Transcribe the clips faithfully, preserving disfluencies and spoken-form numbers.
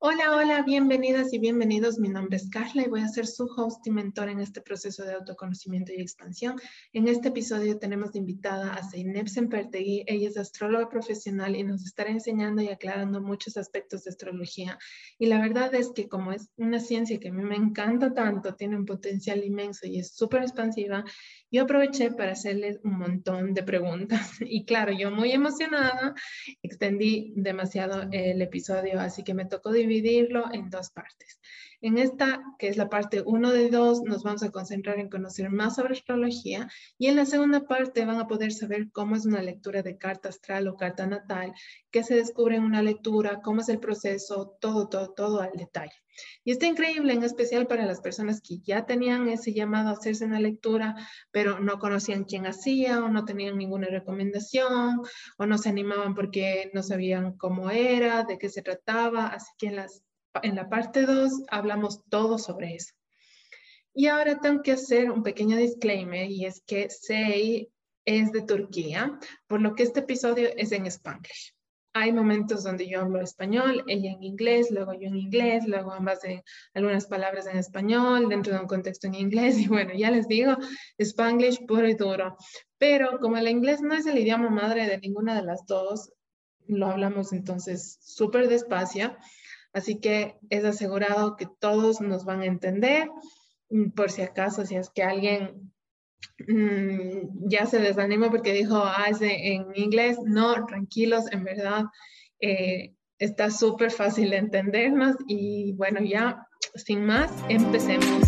Hola, hola, bienvenidas y bienvenidos. Mi nombre es Carla y voy a ser su host y mentor en este proceso de autoconocimiento y expansión. En este episodio tenemos de invitada a Zeynep Sempertegui. Ella es astróloga profesional y nos estará enseñando y aclarando muchos aspectos de astrología. Y la verdad es que como es una ciencia que a mí me encanta tanto, tiene un potencial inmenso y es súper expansiva, yo aproveché para hacerle un montón de preguntas. Y claro, yo muy emocionada, extendí demasiado el episodio, así que me tocó dividirlo en dos partes. En esta, que es la parte uno de dos, nos vamos a concentrar en conocer más sobre astrología, y en la segunda parte van a poder saber cómo es una lectura de carta astral o carta natal, qué se descubre en una lectura, cómo es el proceso, todo, todo, todo al detalle. Y está increíble, en especial para las personas que ya tenían ese llamado a hacerse una lectura, pero no conocían quién hacía o no tenían ninguna recomendación o no se animaban porque no sabían cómo era, de qué se trataba. Así que en, las, en la parte dos hablamos todo sobre eso. Y ahora tengo que hacer un pequeño disclaimer, y es que Sei es de Turquía, por lo que este episodio es en Spanglish. Hay momentos donde yo hablo español, ella en inglés, luego yo en inglés, luego ambas en algunas palabras en español, dentro de un contexto en inglés. Y bueno, ya les digo, Spanglish puro y duro. Pero como el inglés no es el idioma madre de ninguna de las dos, lo hablamos entonces súper despacio. Así que es asegurado que todos nos van a entender. Por si acaso, si es que alguien mmm, ya se desanimó porque dijo, ah, es en inglés, no, tranquilos, en verdad eh, está súper fácil de entendernos. Y bueno, ya sin más, empecemos.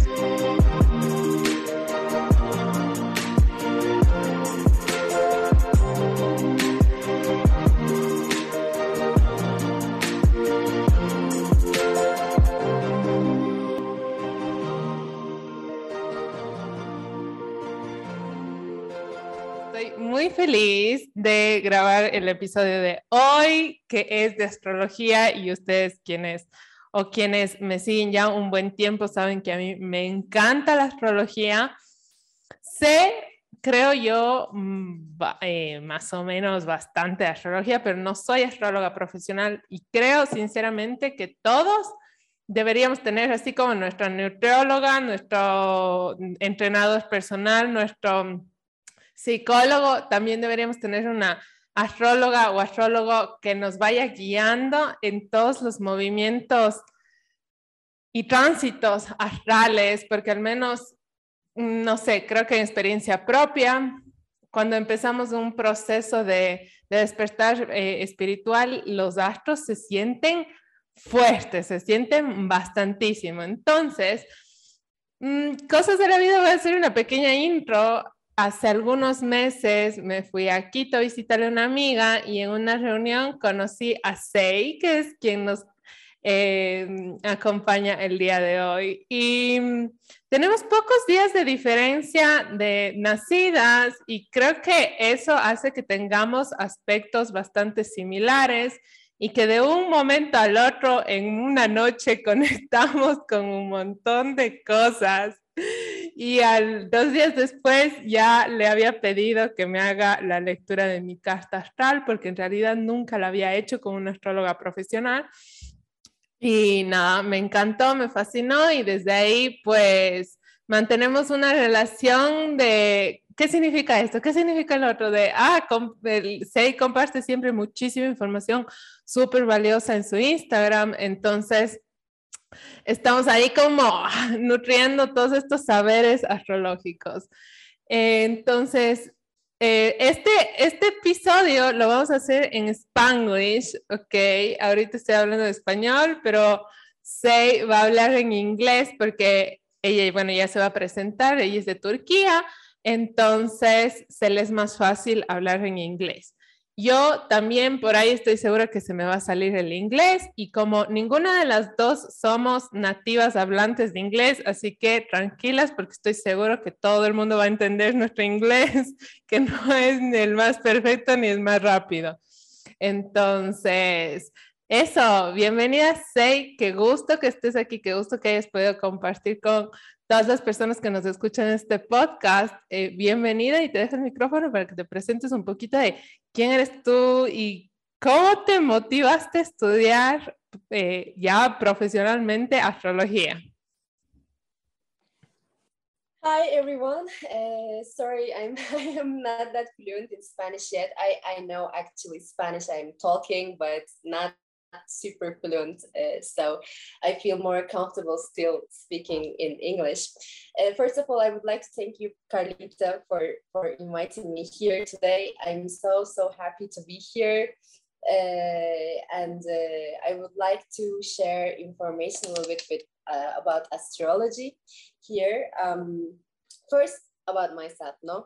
Muy feliz de grabar el episodio de hoy, que es de astrología, y ustedes quienes o quienes me siguen ya un buen tiempo saben que a mí me encanta la astrología. Sé, creo yo, eh, más o menos bastante de astrología, pero no soy astróloga profesional, y creo sinceramente que todos deberíamos tener, así como nuestra nutrióloga, nuestro entrenador personal, nuestro psicólogo, también deberíamos tener una astróloga o astrólogo que nos vaya guiando en todos los movimientos y tránsitos astrales, porque al menos, no sé, creo que en experiencia propia, cuando empezamos un proceso de, de despertar eh, espiritual, los astros se sienten fuertes, se sienten bastantísimo. Entonces, mmm, cosas de la vida, voy a hacer una pequeña intro. Hace algunos meses me fui a Quito a visitar a una amiga, y en una reunión conocí a Sei, que es quien nos eh, acompaña el día de hoy. Y tenemos pocos días de diferencia de nacidas, y creo que eso hace que tengamos aspectos bastante similares, y que de un momento al otro en una noche conectamos con un montón de cosas. Y al, dos días después ya le había pedido que me haga la lectura de mi carta astral, porque en realidad nunca la había hecho con una astróloga profesional. Y nada, me encantó, me fascinó, y desde ahí pues mantenemos una relación de ¿qué significa esto? ¿Qué significa el otro? De, ah, Sei comparte siempre muchísima información súper valiosa en su Instagram. Entonces estamos ahí como nutriendo todos estos saberes astrológicos. Entonces, eh, este, este episodio lo vamos a hacer en Spanglish, ok. Ahorita estoy hablando de español, pero Sei va a hablar en inglés porque ella, bueno, ya se va a presentar, ella es de Turquía, entonces se le es más fácil hablar en inglés. Yo también por ahí estoy segura que se me va a salir el inglés, y como ninguna de las dos somos nativas hablantes de inglés, así que tranquilas, porque estoy seguro que todo el mundo va a entender nuestro inglés, que no es ni el más perfecto ni el más rápido. Entonces, eso, bienvenida Sei, qué gusto que estés aquí, qué gusto que hayas podido compartir con todas las personas que nos escuchan en este podcast. Eh, bienvenida, y te dejo el micrófono para que te presentes un poquito de quién eres tú y cómo te motivaste a estudiar eh, ya profesionalmente astrología? Hi everyone. Uh, sorry, I'm I am not that fluent in Spanish yet. I I know actually Spanish I'm talking, but not super fluent. Uh, so I feel more comfortable still speaking in English. Uh, first of all, I would like to thank you, Carlita, for for inviting me here today. I'm so so happy to be here. Uh, and uh, I would like to share information a little bit with, uh, about astrology here. Um, first, about myself, no?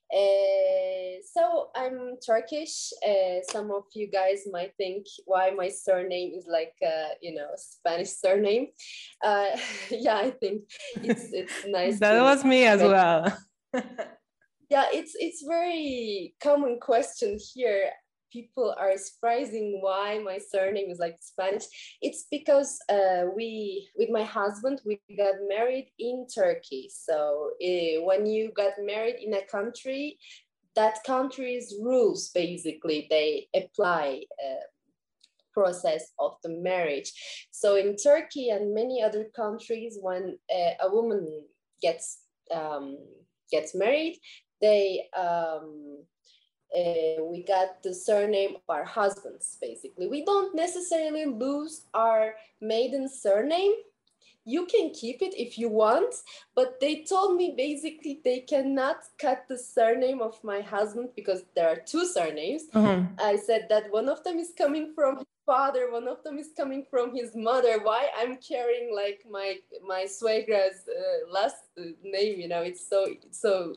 Uh, so I'm Turkish. Uh, some of you guys might think why my surname is like, uh, you know, Spanish surname. Uh, yeah, I think it's it's nice. That was me as well. Yeah, it's it's very common question here. People are surprising why my surname is like Spanish. It's because uh, we, with my husband, we got married in Turkey. So uh, when you got married in a country, that country's rules, basically, they apply uh, process of the marriage. So in Turkey and many other countries, when uh, a woman gets, um, gets married, they, um, Uh, we got the surname of our husbands, basically. We don't necessarily lose our maiden surname. You can keep it if you want, but they told me basically they cannot cut the surname of my husband because there are two surnames. Uh-huh. I said that one of them is coming from his father, one of them is coming from his mother. Why I'm carrying like my my suegra's uh, last name, you know, it's so, it's so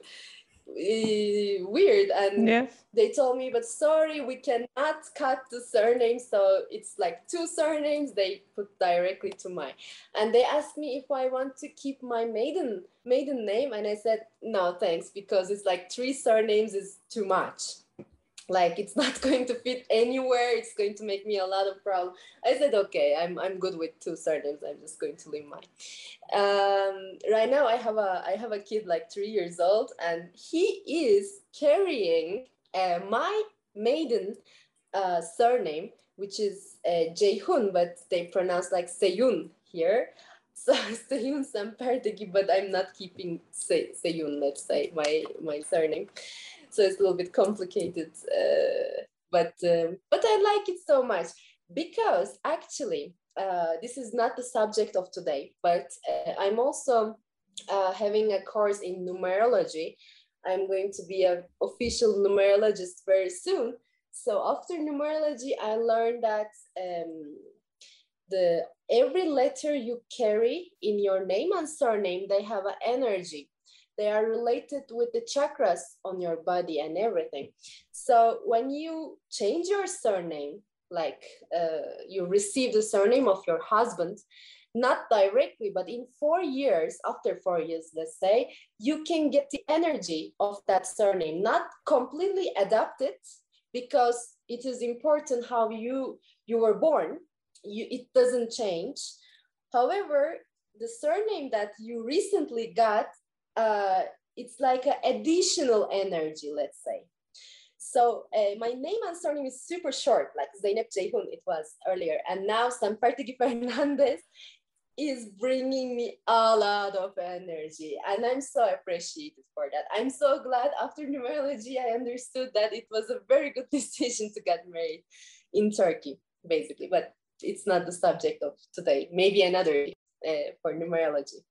Uh, weird. And yeah. They told me, but sorry, we cannot cut the surname, so it's like two surnames they put directly to mine. And they asked me if I want to keep my maiden maiden name, and I said no thanks, because it's like three surnames is too much. Like it's not going to fit anywhere. It's going to make me a lot of problems. I said, okay, I'm I'm good with two surnames. I'm just going to leave mine. Um, right now, I have a I have a kid like three years old, and he is carrying uh, my maiden uh, surname, which is uh, Ceyhun, but they pronounce like Seyun here. So Seyun Sampertegi, but I'm not keeping Se Seyun. Let's say my my surname. So it's a little bit complicated, uh, but um, but I like it so much because actually uh, this is not the subject of today, but uh, I'm also uh, having a course in numerology. I'm going to be an official numerologist very soon. So after numerology, I learned that um, the every letter you carry in your name and surname, they have an energy. They are related with the chakras on your body and everything. So when you change your surname, like uh, you receive the surname of your husband, not directly, but in four years, after four years, let's say, you can get the energy of that surname, not completely adapted, because it is important how you, you were born. You, it doesn't change. However, the surname that you recently got, uh, it's like an additional energy, let's say. So uh, my name and surname is super short, like Zeynep Ceyhun it was earlier. And now Sampertegi Fernandez is bringing me a lot of energy. And I'm so appreciated for that. I'm so glad after numerology, I understood that it was a very good decision to get married in Turkey, basically. But it's not the subject of today. Maybe another day uh, for numerology.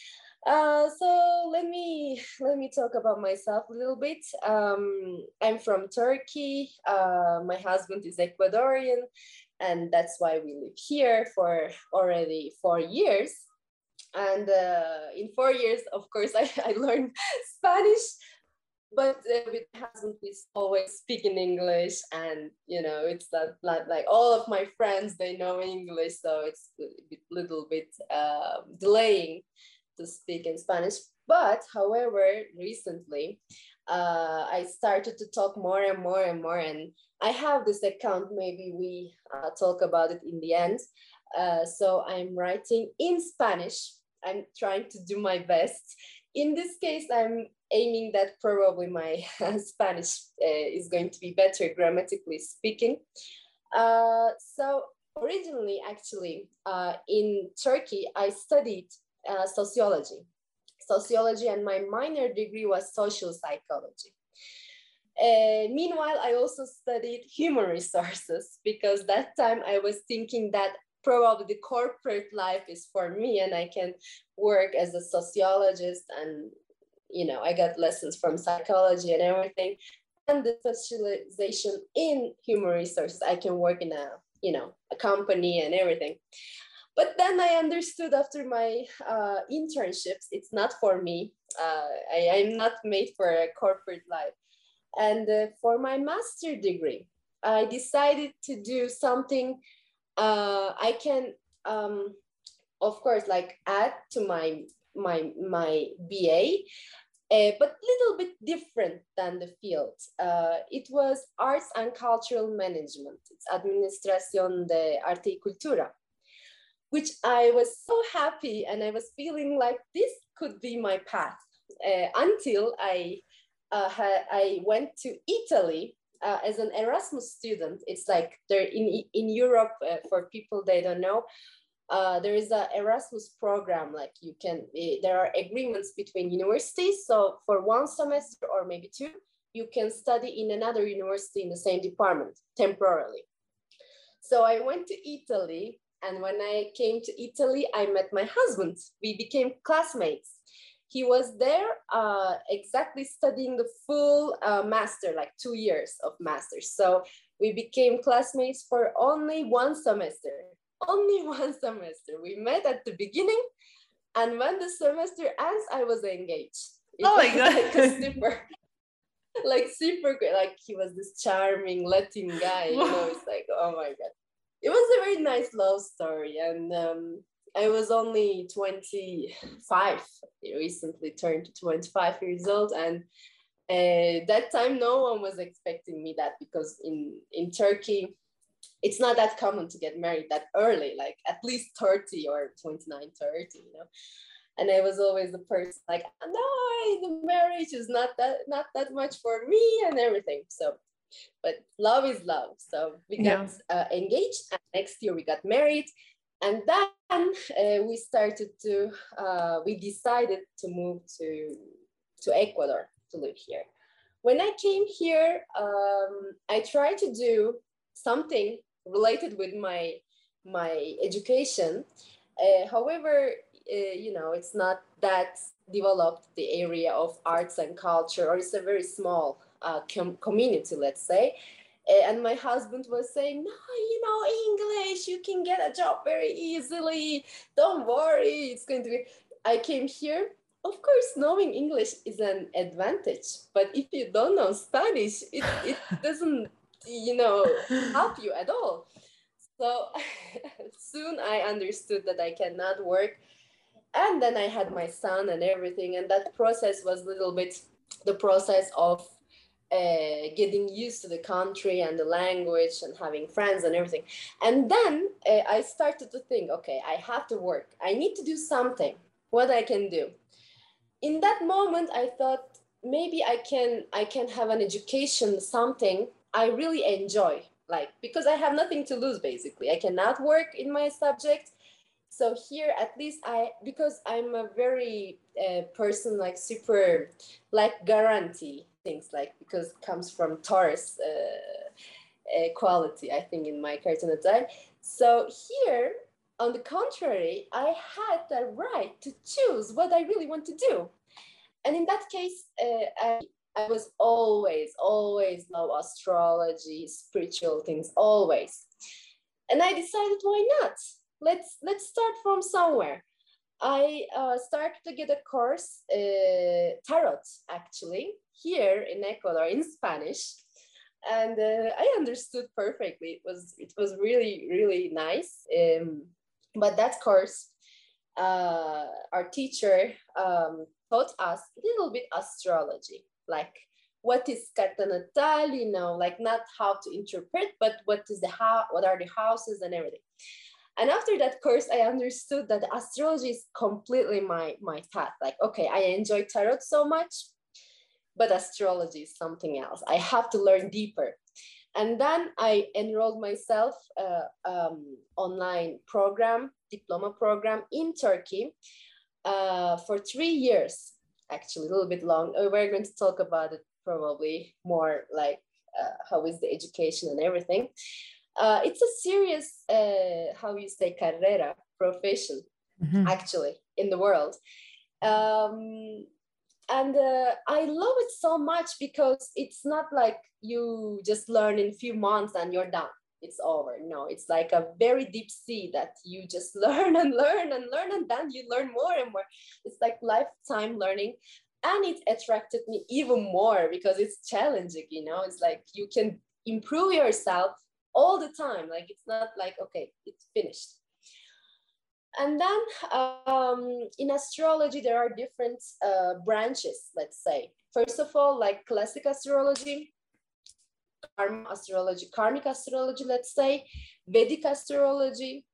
Uh, so let me let me talk about myself a little bit. Um, I'm from Turkey. Uh, my husband is Ecuadorian, and that's why we live here for already four years. And uh, in four years, of course, I, I learned Spanish. But uh, with my husband, we always speak in English, and you know, it's not, not like all of my friends, they know English, so it's a bit, little bit uh, delaying to speak in Spanish. But however, recently, uh, I started to talk more and more and more, and I have this account, maybe we uh, talk about it in the end. Uh, so I'm writing in Spanish. I'm trying to do my best. In this case, I'm aiming that probably my Spanish uh, is going to be better grammatically speaking. Uh, so originally, actually, uh, in Turkey, I studied uh, sociology. Sociology, and my minor degree was social psychology. Uh, meanwhile, I also studied human resources because that time I was thinking that probably the corporate life is for me and I can work as a sociologist, and you know, I got lessons from psychology and everything, and the specialization in human resources, I can work in a, you know, a company and everything. But then I understood after my uh, internships, it's not for me. Uh, I, I'm not made for a corporate life. And uh, for my master degree, I decided to do something uh, I can, um, of course, like add to my my my B A, uh, but little bit different than the field. Uh, it was arts and cultural management. It's Administración de Arte y Cultura, which I was so happy, and I was feeling like this could be my path uh, until I uh, ha- I went to Italy uh, as an Erasmus student. It's like there in in Europe, uh, for people they don't know, uh, there is a Erasmus program. Like you can, uh, there are agreements between universities. So for one semester or maybe two, you can study in another university in the same department temporarily. So I went to Italy, and when I came to Italy, I met my husband. We became classmates. He was there uh, exactly studying the full uh, master, like two years of master. So we became classmates for only one semester, only one semester. We met at the beginning, and when the semester ends, I was engaged. It oh was my God. like a super, like super great. Like he was this charming Latin guy, you know, it's like, oh my God. It was a very nice love story, and um, I was only twenty-five. I recently turned to twenty-five years old, and uh, that time no one was expecting me that, because in in Turkey, it's not that common to get married that early, like at least thirty or twenty-nine, thirty, you know. And I was always the person like, no, the marriage is not that not that much for me and everything. So, but love is love. So we got yeah. uh, engaged, and next year we got married, and then uh, we started to uh, we decided to move to to Ecuador to live here. When I came here, um, I tried to do something related with my my education. Uh, however, uh, you know, it's not that developed, the area of arts and culture, or it's a very small uh, com- community, let's say. Uh, and my husband was saying, no, you know, English, you can get a job very easily. Don't worry, it's going to be. I came here. Of course, knowing English is an advantage, but if you don't know Spanish, it, it doesn't, you know, help you at all. So soon I understood that I cannot work. And then I had my son and everything. And that process was a little bit the process of uh, getting used to the country and the language and having friends and everything. And then uh, I started to think, okay, I have to work. I need to do something, what I can do. In that moment, I thought maybe I can, I can have an education, something I really enjoy. Like, because I have nothing to lose, basically. I cannot work in my subject. So here, at least I, because I'm a very uh, person, like super, like guarantee things, like, because it comes from Taurus uh, uh, quality, I think, in my cartoon. So here, on the contrary, I had the right to choose what I really want to do. And in that case, uh, I, I was always, always love astrology, spiritual things, always. And I decided, why not? Let's let's start from somewhere. I uh, started to get a course, uh, tarot, actually, here in Ecuador in Spanish, and uh, I understood perfectly. It was it was really really nice. Um, but that course, uh, our teacher um, taught us a little bit astrology, like what is carta natal, you know, like not how to interpret, but what is the how, what are the houses and everything. And after that course, I understood that astrology is completely my, my path. Like, okay, I enjoy tarot so much, but astrology is something else. I have to learn deeper. And then I enrolled myself uh, um, online program, diploma program in Turkey uh, for three years, actually a little bit long. We're going to talk about it probably more, like uh, how is the education and everything. Uh, it's a serious, uh, how you say, carrera, profession, mm-hmm. actually, in the world. Um, and uh, I love it so much because it's not like you just learn in a few months and you're done. It's over. No, it's like a very deep sea that you just learn and learn and learn, and then you learn more and more. It's like lifetime learning. And it attracted me even more because it's challenging, you know, it's like you can improve yourself all the time. Like, it's not like, okay, it's finished. And then um, in astrology, there are different uh, branches, let's say. First of all, like classic astrology, karma astrology, karmic astrology, let's say, Vedic astrology,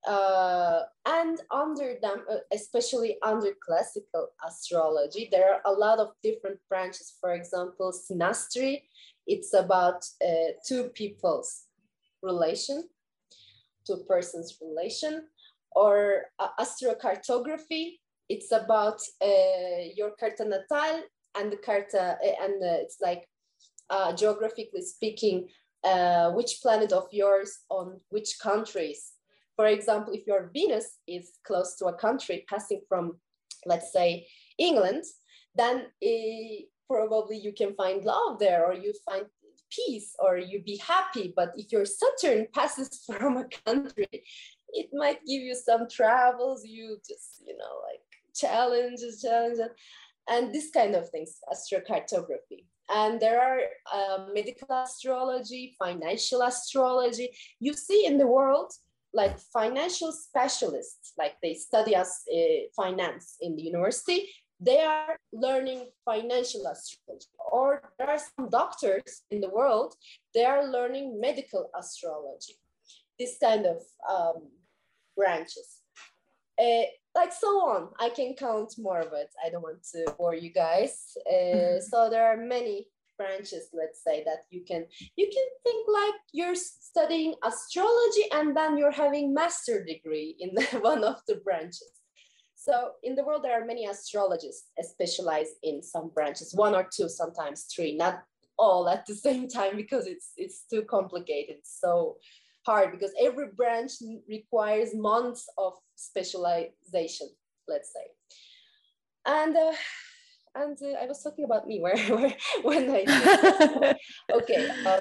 uh, and under them, uh, especially under classical astrology, there are a lot of different branches. For example, synastry, it's about uh, two people's relation, two persons' relation, or uh, astrocartography, it's about uh, your carta natal and the carta, uh, and uh, it's like uh, geographically speaking, uh, which planet of yours on which countries. For example, if your Venus is close to a country passing from, let's say, England, then uh, probably you can find love there, or you find peace, or you be happy. But if your Saturn passes from a country, it might give you some travels, you just, you know, like challenges, challenges, and this kind of things, astrocartography. And there are uh, medical astrology, financial astrology. You see in the world, like financial specialists, like they study as uh, finance in the university, they are learning financial astrology. Or there are some doctors in the world, they are learning medical astrology. This kind of um, branches. Uh, like so on. I can count more, but I don't want to bore you guys. Uh, so there are many branches, let's say, that you can you can think like you're studying astrology and then you're having master degree in the, one of the branches. So in the world, there are many astrologists specialized in some branches, one or two, sometimes three, not all at the same time, because it's it's too complicated. So hard, because every branch requires months of specialization, let's say. And uh, and uh, I was talking about me where, where when I did okay. Uh,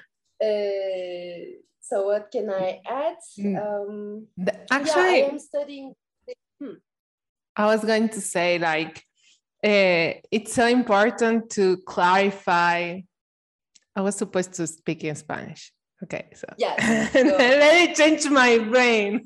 uh, so what can I add? Um, Actually, yeah, I am studying. Hmm. I was going to say, like, uh, it's so important to clarify. I was supposed to speak in Spanish. Okay, so yes, let me change my brain.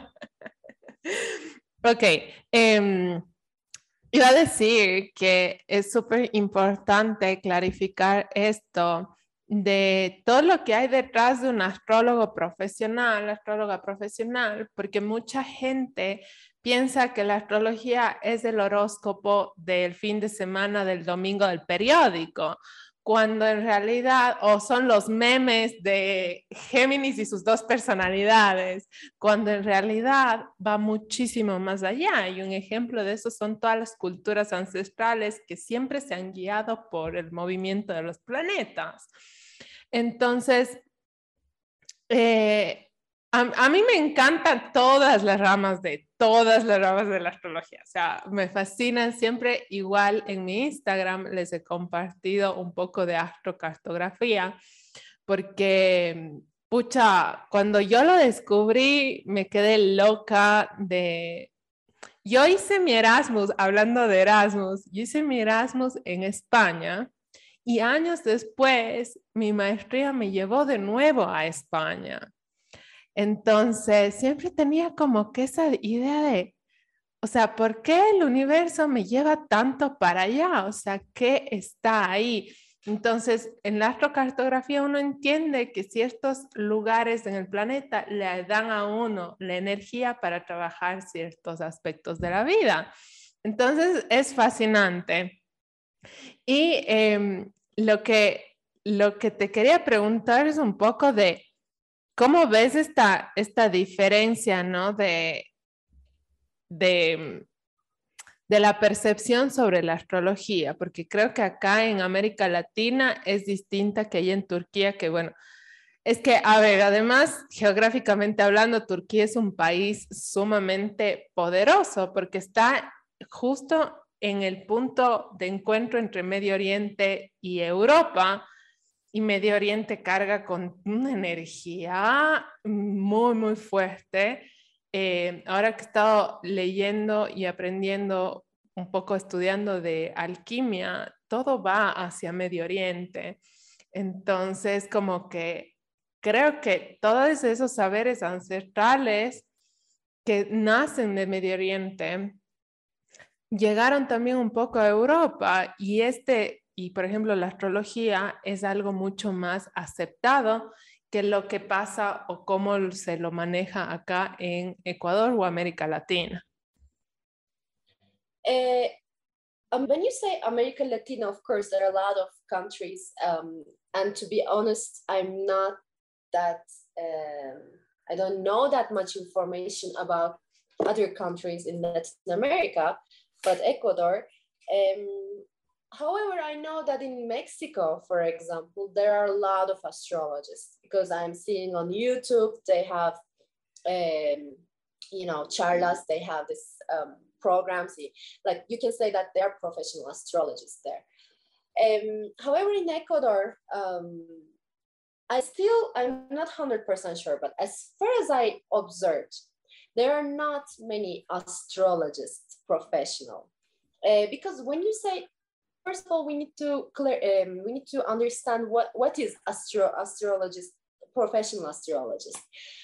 Ok, um, iba a decir que es súper importante clarificar esto de todo lo que hay detrás de un astrólogo profesional, astróloga profesional, porque mucha gente piensa que la astrología es el horóscopo del fin de semana del domingo del periódico, cuando en realidad, o son los memes de Géminis y sus dos personalidades, cuando en realidad va muchísimo más allá. Y un ejemplo de eso son todas las culturas ancestrales que siempre se han guiado por el movimiento de los planetas. Entonces, eh, a, a mí me encantan todas las ramas de todas las ramas de la astrología, o sea, me fascinan. Siempre igual en mi Instagram les he compartido un poco de astrocartografía, porque, pucha, cuando yo lo descubrí me quedé loca de... Yo hice mi Erasmus, hablando de Erasmus, yo hice mi Erasmus en España y años después mi maestría me llevó de nuevo a España. Entonces, siempre tenía como que esa idea de, o sea, ¿por qué el universo me lleva tanto para allá? O sea, ¿qué está ahí? Entonces, en la astrocartografía uno entiende que ciertos lugares en el planeta le dan a uno la energía para trabajar ciertos aspectos de la vida. Entonces, es fascinante. Y eh, lo que... lo que te quería preguntar es un poco de cómo ves esta, esta diferencia, ¿no? De, de, de la percepción sobre la astrología, porque creo que acá en América Latina es distinta que allá en Turquía, que bueno, es que, a ver, además, geográficamente hablando, Turquía es un país sumamente poderoso porque está justo en el punto de encuentro entre Medio Oriente y Europa, y Medio Oriente carga con una energía muy, muy fuerte. Eh, ahora que he estado leyendo y aprendiendo un poco, estudiando de alquimia, todo va hacia Medio Oriente. Entonces, como que creo que todos esos saberes ancestrales que nacen de Medio Oriente llegaron también un poco a Europa y este, y por ejemplo la astrología es algo mucho más aceptado que lo que pasa o cómo se lo maneja acá en Ecuador o América Latina. Uh, um, when you say America Latina, of course, there are a lot of countries. Um, and to be honest, I'm not that, um, I don't know that much information about other countries in Latin America, but Ecuador. Um, however, I know that in Mexico, for example, there are a lot of astrologists because I'm seeing on YouTube, they have, um, you know, charlas, they have this um, programs, like you can say that they're professional astrologists there. Um, however, in Ecuador, um, I still, I'm not one hundred percent sure, but as far as I observed, there are not many astrologists professional. Uh, because when you say, first of all, we need to clear, um, we need to understand what, what is astro astrologist, professional astrologist.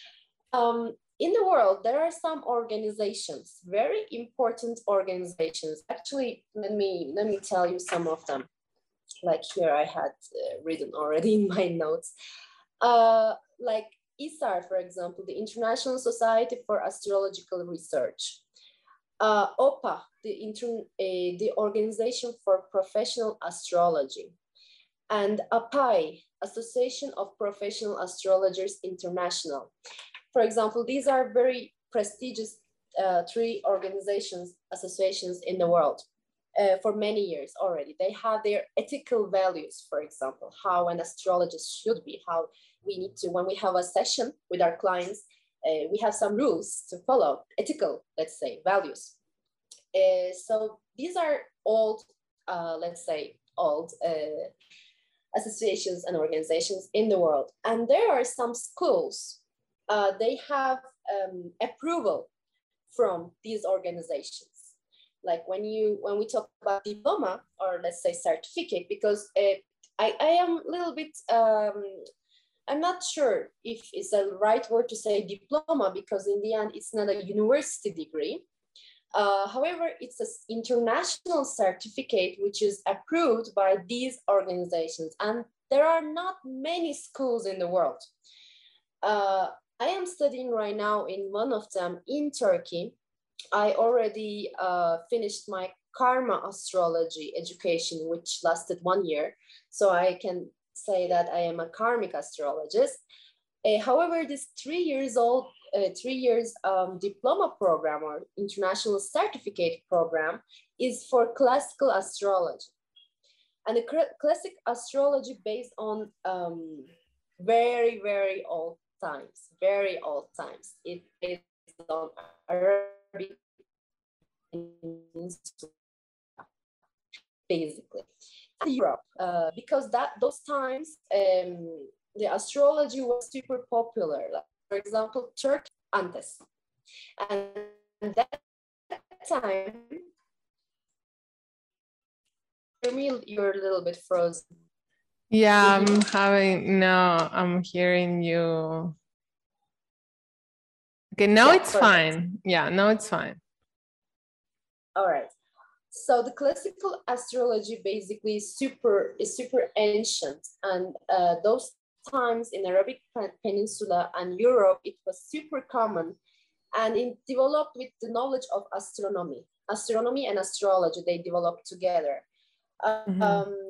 Um, in the world, there are some organizations, very important organizations. Actually, let me, let me tell you some of them. Like here I had uh, written already in my notes. Uh, like I S A R, for example, the International Society for Astrological Research. Uh, O P A, the, inter, uh, the Organization for Professional Astrology. And A P A I, Association of Professional Astrologers International. For example, these are very prestigious uh, three organizations, associations in the world. Uh, for many years already. They have their ethical values, for example, how an astrologist should be, how we need to, when we have a session with our clients, uh, we have some rules to follow, ethical, let's say, values. Uh, so these are old, uh, let's say, old uh, associations and organizations in the world. And there are some schools, uh, they have um, approval from these organizations. Like when you when we talk about diploma or let's say certificate, because uh, I, I am a little bit, um, I'm not sure if it's the right word to say diploma, because in the end it's not a university degree. Uh, however, it's an international certificate which is approved by these organizations. And there are not many schools in the world. Uh, I am studying right now in one of them in Turkey. I already uh, finished my karma astrology education, which lasted one year. So I can say that I am a karmic astrologist. Uh, however, this three years old, uh, three years um, diploma program or international certificate program is for classical astrology. And the classic astrology based on um, very, very old times, very old times. It is on Arabic, basically. Europe, uh, because that those times um, the astrology was super popular. Like, for example, Turkey antes, and that time, for me, you're a little bit frozen. Yeah, I'm having no, I'm hearing you. Okay, now yeah, it's perfect. Fine. Yeah, now it's fine. All right. So the classical astrology basically is super is super ancient, and uh, those times in Arabic Peninsula and Europe, it was super common, and it developed with the knowledge of astronomy. Astronomy and astrology, they developed together. Uh, mm-hmm. um,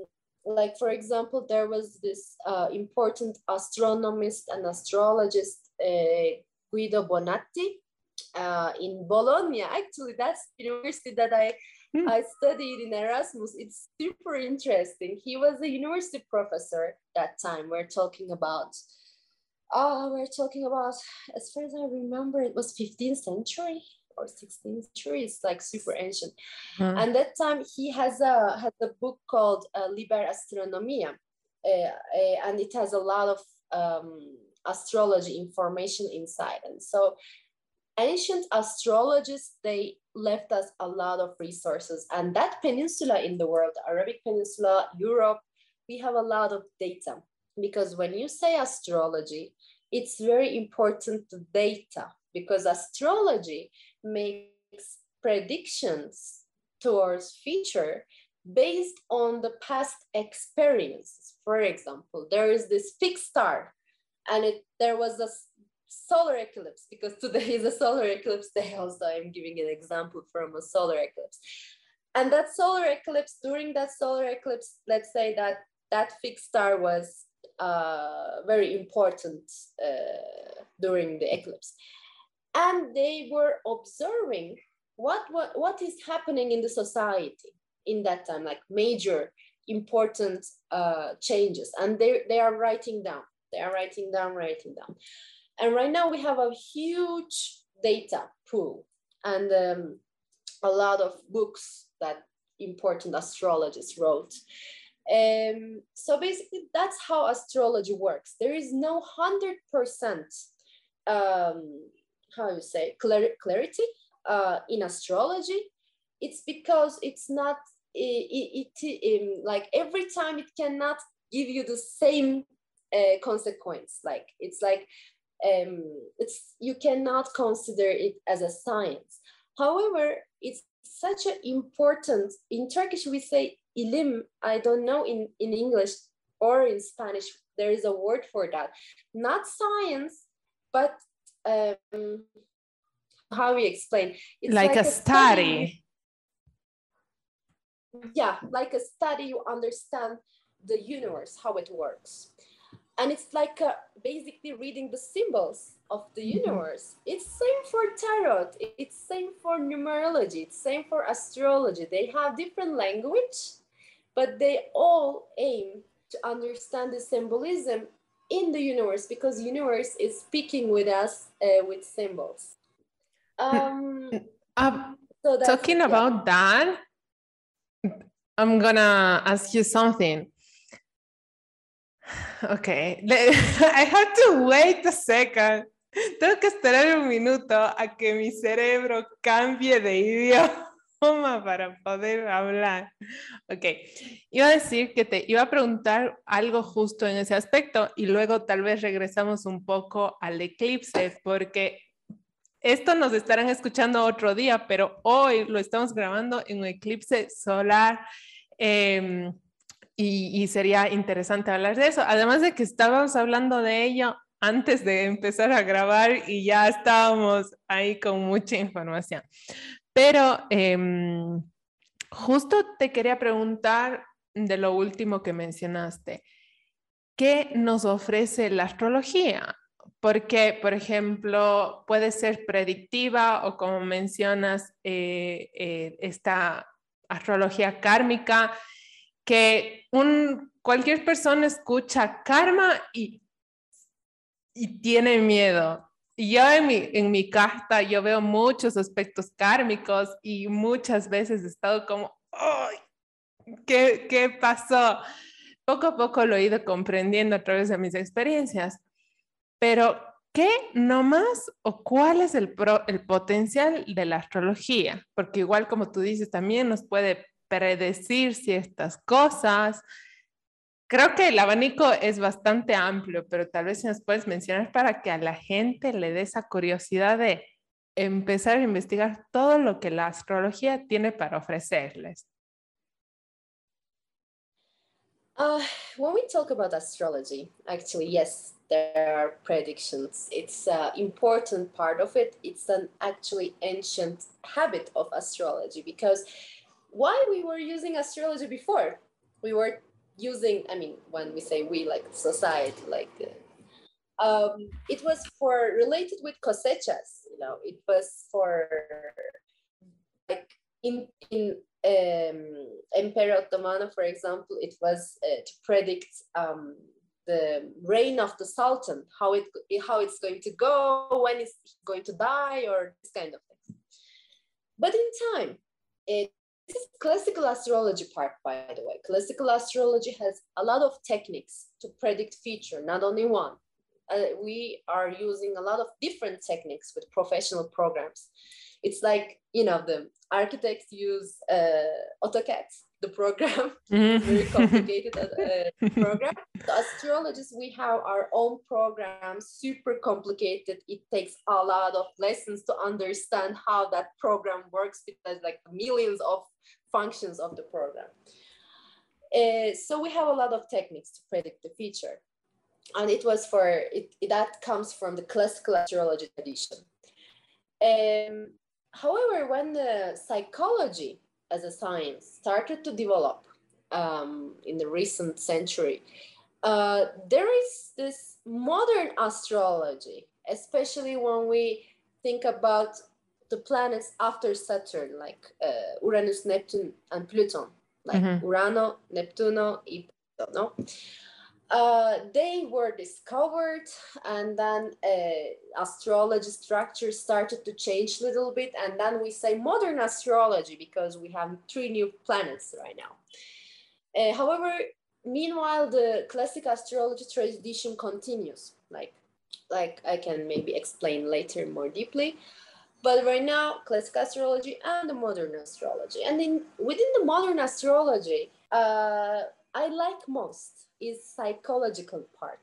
like, for example, there was this uh, important astronomist and astrologist, uh, Guido Bonatti, uh, in Bologna. Actually, that's the university that I, mm. I studied in Erasmus. It's super interesting. He was a university professor that time. We're talking about, oh, we're talking about, as far as I remember, it was fifteenth century or sixteenth century. It's like super ancient. Mm. And that time he has a, has a book called uh, Liber Astronomia. Uh, uh, and it has a lot of um, astrology information inside. And so ancient astrologists, they left us a lot of resources. And that peninsula in the world, Arabic Peninsula, Europe, we have a lot of data. Because when you say astrology, it's very important data, because astrology makes predictions towards future based on the past experiences. For example, there is this fixed star, and it there was a solar eclipse, because today is a solar eclipse day also. I'm giving an example from a solar eclipse. And that solar eclipse, during that solar eclipse, let's say that that fixed star was uh, very important uh, during the eclipse. And they were observing what, what, what is happening in the society in that time, like major important uh, changes. And they, they are writing down, they are writing down, writing down. And right now we have a huge data pool and um, a lot of books that important astrologists wrote. Um, so basically that's how astrology works. There is no one hundred percent um, how you say, clar clarity uh, in astrology. It's because it's not, it, it, it, like every time it cannot give you the same uh, consequence. Like it's like, um, it's, you cannot consider it as a science. However, it's such an important, in Turkish we say ilim, I don't know in, in English or in Spanish, there is a word for that. Not science, but um, how we explain? It's like, like a, a study. study. Yeah, like a study, you understand the universe, how it works. And it's like a, basically reading the symbols of the universe. It's same for tarot, it's same for numerology, it's same for astrology. They have different language, but they all aim to understand the symbolism in the universe, because universe is speaking with us uh, with symbols. Um, uh, so talking it, about yeah. that, I'm gonna ask you something. Okay, I have to wait a second. Tengo que esperar un minuto a que mi cerebro cambie de idioma para poder hablar. Ok, iba a decir que te iba a preguntar algo justo en ese aspecto y luego tal vez regresamos un poco al eclipse, porque esto nos estarán escuchando otro día, pero hoy lo estamos grabando en un eclipse solar. Eh, Y, y sería interesante hablar de eso. Además de que estábamos hablando de ello antes de empezar a grabar y ya estábamos ahí con mucha información. Pero eh, justo te quería preguntar de lo último que mencionaste. ¿Qué nos ofrece la astrología? Porque, por ejemplo, puede ser predictiva o como mencionas, eh, eh, esta astrología kármica, que un, cualquier persona escucha karma y, y tiene miedo. Y yo en mi, en mi carta yo veo muchos aspectos kármicos y muchas veces he estado como, ¡ay! ¿Qué, qué pasó? Poco a poco lo he ido comprendiendo a través de mis experiencias. Pero, ¿qué nomás o cuál es el, pro, el potencial de la astrología? Porque igual como tú dices, también nos puede predecir ciertas cosas. Creo que el abanico es bastante amplio, pero tal vez si nos puedes mencionar para que a la gente le dé esa curiosidad de empezar a investigar todo lo que la astrología tiene para ofrecerles. Uh, when we talk about astrology, actually, yes, there are predictions. It's an important part of it. It's an actually ancient habit of astrology, because why we were using astrology before? We were using, I mean, when we say we, like society, like, uh, um, it was for related with cosechas, you know, it was for like in, in um, Emperor Ottomano, for example, it was uh, to predict um, the reign of the Sultan, how it how it's going to go, when it's going to die, or this kind of things. But in time, it this is classical astrology part, by the way. Classical astrology has a lot of techniques to predict future, not only one. Uh, we are using a lot of different techniques with professional programs. It's like, you know, the architects use uh, AutoCAD, the program, mm-hmm. very complicated uh, program. The astrologists, we have our own program, super complicated. It takes a lot of lessons to understand how that program works, because like millions of functions of the program. Uh, so we have a lot of techniques to predict the future. And it was for, it, that comes from the classical astrology tradition. Um, however, when the psychology as a science started to develop um, in the recent century, uh, there is this modern astrology, especially when we think about the planets after Saturn, like uh, Uranus, Neptune, and Pluton, like mm-hmm. Urano, Neptuno, y Pluto, no? Uh, they were discovered, and then uh, astrology structure started to change a little bit, and then we say modern astrology because we have three new planets right now. Uh, however, meanwhile, the classic astrology tradition continues, like, like I can maybe explain later more deeply. But right now, classic astrology and the modern astrology. And in, within the modern astrology, uh, I like most is psychological part.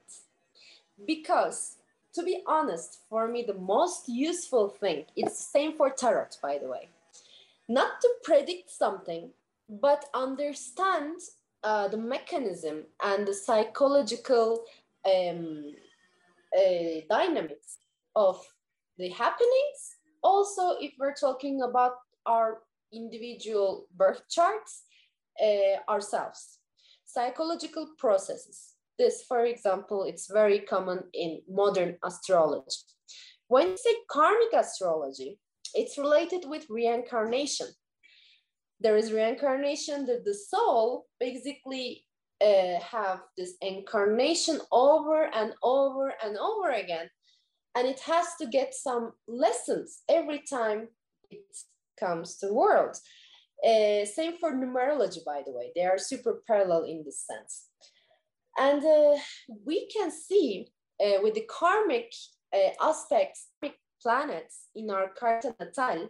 Because, to be honest, for me, the most useful thing, it's the same for tarot, by the way. Not to predict something, but understand uh, the mechanism and the psychological um, uh, dynamics of the happenings. Also, if we're talking about our individual birth charts, uh, ourselves. Psychological processes. This, for example, it's very common in modern astrology. When you say karmic astrology, it's related with reincarnation. There is reincarnation that the soul basically uh, have this incarnation over and over and over again. And it has to get some lessons every time it comes to the world. Uh, same for numerology, by the way. They are super parallel in this sense. And uh, we can see uh, with the karmic uh, aspects, karmic planets in our Carta Natal,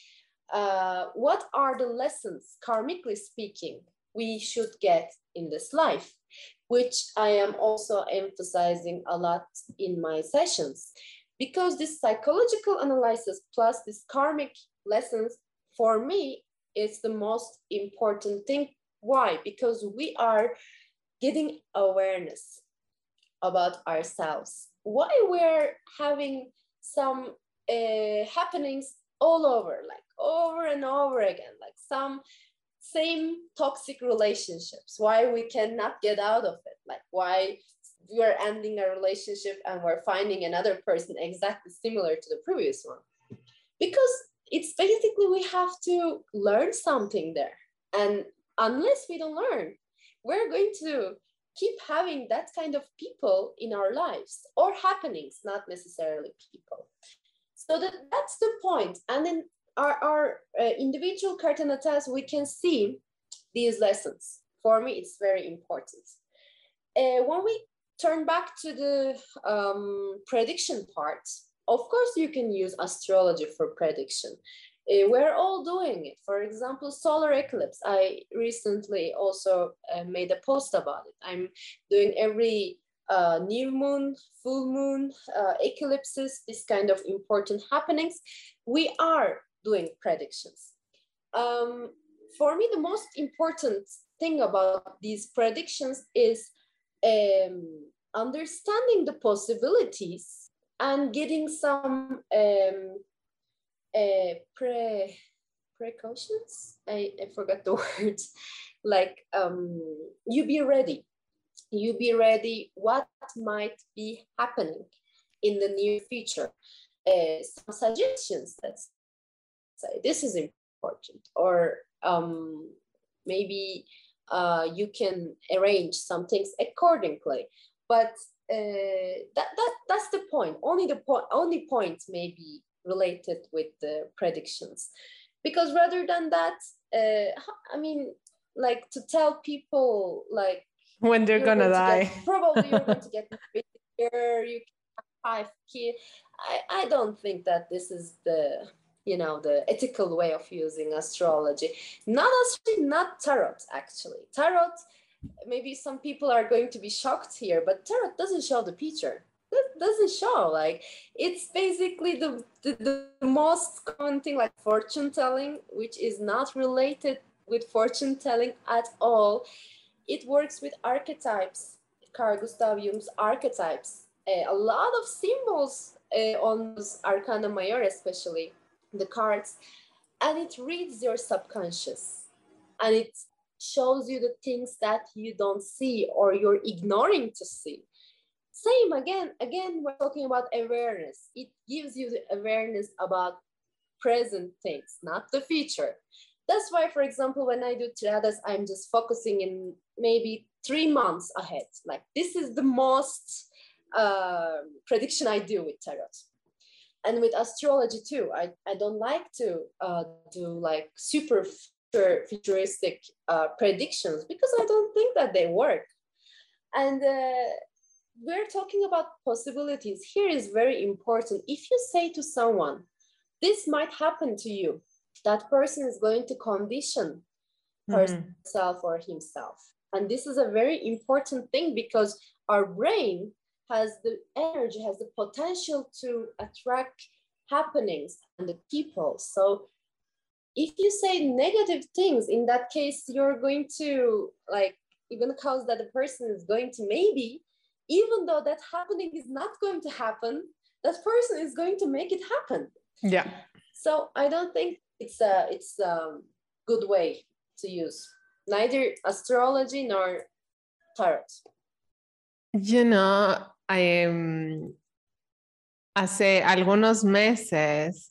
uh, what are the lessons, karmically speaking, we should get in this life, which I am also emphasizing a lot in my sessions. Because this psychological analysis plus this karmic lessons, for me, is the most important thing. Why? Because we are getting awareness about ourselves. Why we're having some uh, happenings all over, like over and over again, like some same toxic relationships. Why we cannot get out of it? Like why we're ending a relationship and we're finding another person exactly similar to the previous one? Because it's basically we have to learn something there. And unless we don't learn, we're going to keep having that kind of people in our lives or happenings, not necessarily people. So that, that's the point. And in our, our uh, individual Carta Natals, we can see these lessons. For me, it's very important. Uh, when we turn back to the um, prediction part, of course, you can use astrology for prediction. Uh, we're all doing it. For example, solar eclipse. I recently also uh, made a post about it. I'm doing every uh, new moon, full moon, uh, eclipses, this kind of important happenings. We are doing predictions. Um, for me, the most important thing about these predictions is um, understanding the possibilities and getting some um, uh, pre, precautions. I, I forgot the word. Like um, you be ready. You be ready what might be happening in the near future. Uh, some suggestions, let's say this is important, or um, maybe uh, you can arrange some things accordingly. But uh, that, that that's the point. Only the point. Only point may be related with the predictions, because rather than that, uh, I mean, like to tell people like when they're gonna die, get, probably you're going to get married here, you can have five kids. I I don't think that this is the you know the ethical way of using astrology. Not astrology, not tarot. Actually, tarot. Maybe some people are going to be shocked here, but tarot doesn't show the future. It doesn't show, like, it's basically the, the, the most common thing, like fortune telling, which is not related with fortune telling at all. It works with archetypes, Carl Gustav Jung's archetypes, uh, a lot of symbols uh, on those Arcana Major, especially the cards, and it reads your subconscious, and it shows you the things that you don't see or you're ignoring to see. Same again, again, we're talking about awareness. It gives you the awareness about present things, not the future. That's why, for example, when I do tiradas, I'm just focusing in maybe three months ahead. Like this is the most uh, prediction I do with tarot. And with astrology too, I, I don't like to uh, do like super futuristic uh, predictions because I don't think that they work. And uh, we're talking about possibilities. Here is very important. If you say to someone, this might happen to you, that person is going to condition mm-hmm. herself or himself. And this is a very important thing because our brain has the energy, has the potential to attract happenings and the people. So if you say negative things, in that case, you're going to like even cause that the person is going to maybe, even though that happening is not going to happen, that person is going to make it happen. Yeah. So I don't think it's a it's a good way to use neither astrology nor tarot. You know, I um, hace algunos meses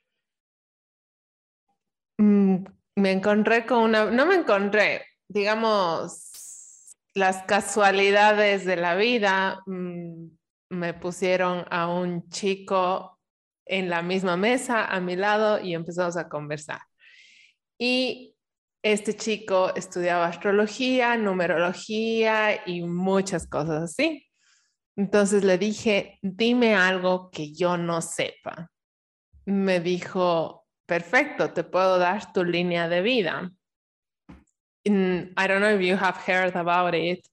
mm, me encontré con una, no me encontré, digamos, las casualidades de la vida mm, me pusieron a un chico en la misma mesa a mi lado y empezamos a conversar. Y este chico estudiaba astrología, numerología y muchas cosas así. Entonces le dije, dime algo que yo no sepa. Me dijo, perfecto, te puedo dar tu línea de vida. And I don't know if you have heard about it,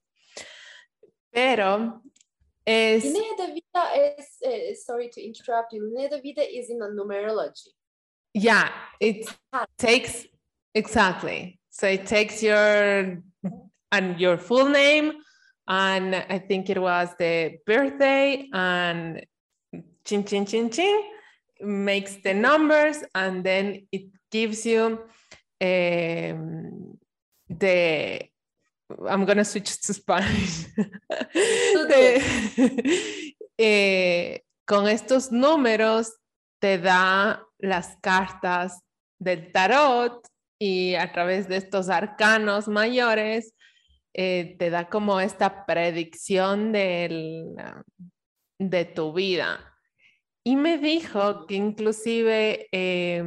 pero es... Línea de vida is, uh, sorry to interrupt you, línea de vida is in a numerology. Yeah, it takes, exactly. So it takes your, and your full name, and I think it was the birthday, and chin, chin, chin, chin, makes the numbers, and then it gives you um, the, I'm going to switch to Spanish. de, eh, con estos números te da las cartas del tarot y a través de estos arcanos mayores eh, te da como esta predicción del, de tu vida. Y me dijo que inclusive eh,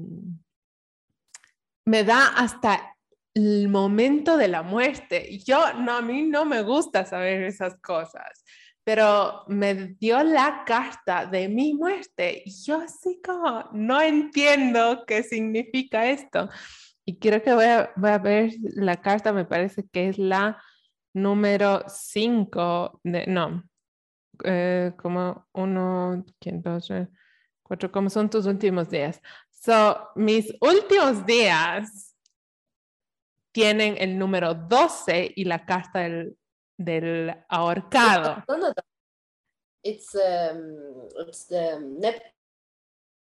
me da hasta el momento de la muerte. Y yo, no, a mí no me gusta saber esas cosas, pero me dio la carta de mi muerte. Y yo así como, no entiendo qué significa esto. Y creo que voy a, voy a ver la carta, me parece que es la número cinco, de, no, eh, como uno, dos, tres, cuatro, como son tus últimos días. So, mis últimos días tienen el número doce y la carta del, del ahorcado. No, no, no. It's, um, it's the Neptune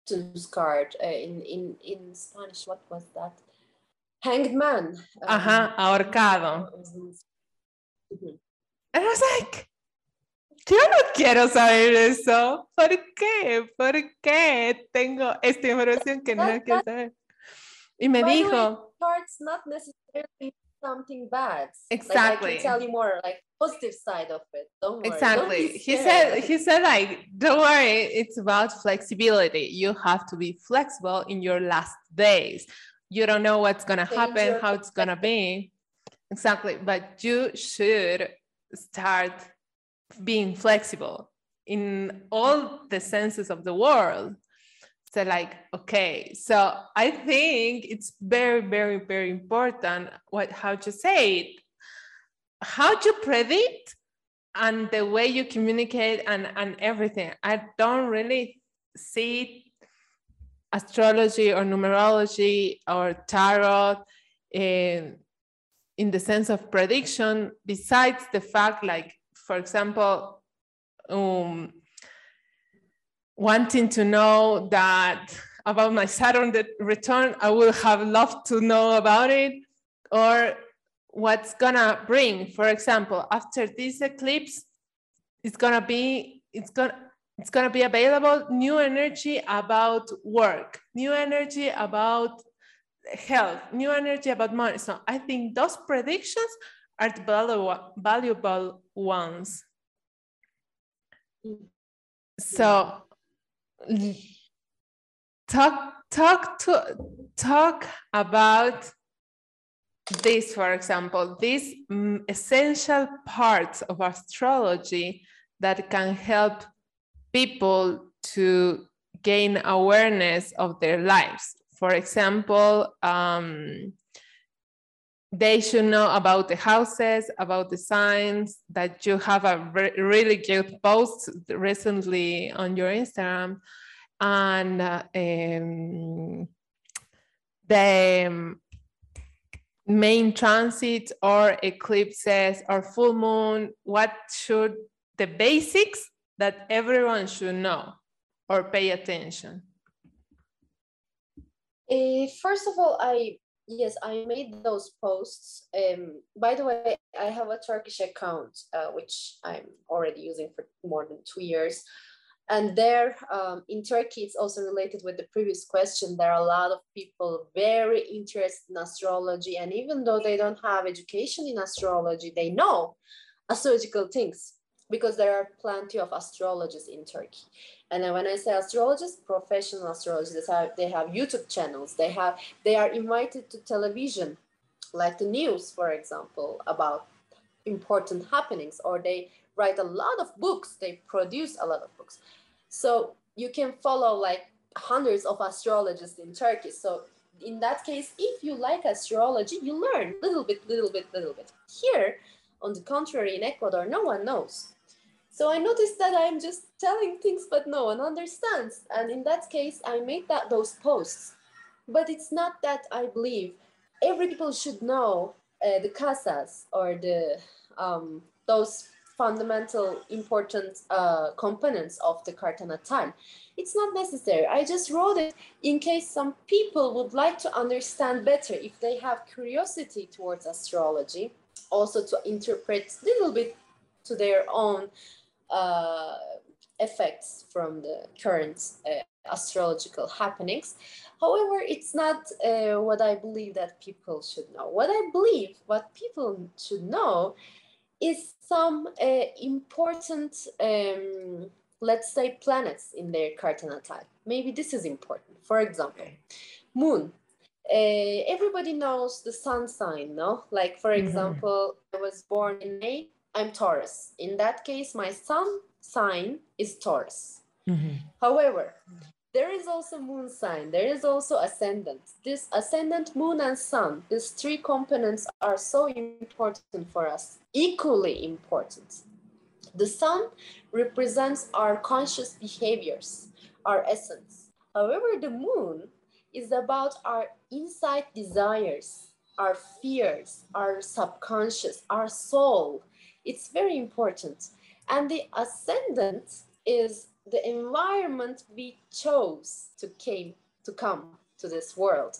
fortune's card uh, in, in, in Spanish. What was that? Hanged man. Um, Ajá, ahorcado. Mm-hmm. And I was like, yo no quiero saber eso. ¿Por qué? ¿Por qué tengo esta información que no that, quiero that, saber? Y me by dijo, the way, cards not necessarily something bad. Exactly. Like I can tell you more like positive side of it. Don't worry. Exactly. Don't he said he said like, don't worry, it's about flexibility. You have to be flexible in your last days. You don't know what's gonna happen, how it's gonna be. Exactly. But you should start being flexible in all the senses of the world. So like, okay, so I think it's very, very, very important what how to say it, how to predict, and the way you communicate and, and everything. I don't really see astrology or numerology or tarot in, in the sense of prediction, besides the fact, like, for example, um, wanting to know that about my Saturn return, I would have loved to know about it, or what's gonna bring. For example, after this eclipse, it's gonna be, it's gonna, it's gonna be available new energy about work, new energy about health, new energy about money. So I think those predictions are the valuable, valuable ones. So talk, talk to, talk about this, for example, these um, essential parts of astrology that can help people to gain awareness of their lives. For example, um, they should know about the houses, about the signs, that you have a re really good post recently on your Instagram, and uh, um, the um, main transits or eclipses or full moon, what should the basics that everyone should know or pay attention? Uh, first of all, I yes, I made those posts. Um, by the way, I have a Turkish account, uh, which I'm already using for more than two years. And there, um, in Turkey, it's also related with the previous question. There are a lot of people very interested in astrology. And even though they don't have education in astrology, they know astrological things, because there are plenty of astrologists in Turkey. And then when I say astrologists, professional astrologists, they have, they have YouTube channels. They have, they are invited to television, like the news, for example, about important happenings, or they write a lot of books. They produce a lot of books. So you can follow like hundreds of astrologists in Turkey. So in that case, if you like astrology, you learn little bit, little bit, little bit. Here, on the contrary, in Ecuador, no one knows. So I noticed that I'm just telling things, but no one understands. And in that case, I made that those posts. But it's not that I believe every people should know uh, the casas or the um, those fundamental important uh, components of the Carta Natal. It's not necessary. I just wrote it in case some people would like to understand better, if they have curiosity towards astrology, also to interpret a little bit to their own uh, effects from the current uh, astrological happenings. However, it's not uh, what I believe that people should know. What I believe, what people should know, is some uh, important, um, let's say, planets in their Carta Natal. Maybe this is important. For example, moon. Uh, everybody knows the sun sign, no? Like, for example, mm-hmm. I was born in May, I'm Taurus. In that case, my sun sign is Taurus. Mm-hmm. However, there is also moon sign, there is also ascendant. This ascendant, moon and sun, these three components are so important for us, equally important. The sun represents our conscious behaviors, our essence. However, the moon is about our inside desires, our fears, our subconscious, our soul. It's very important. And the ascendant is the environment we chose to came to come to this world.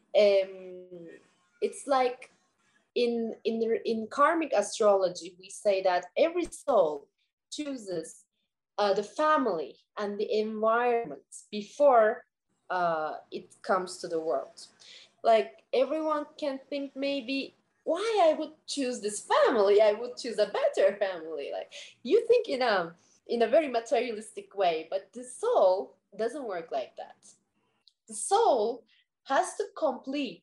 Um, it's like in, in, in karmic astrology, we say that every soul chooses uh, the family and the environment before uh, it comes to the world. Like everyone can think maybe, why I would choose this family? I would choose a better family. Like you think in a, in a very materialistic way, but the soul doesn't work like that. The soul has to complete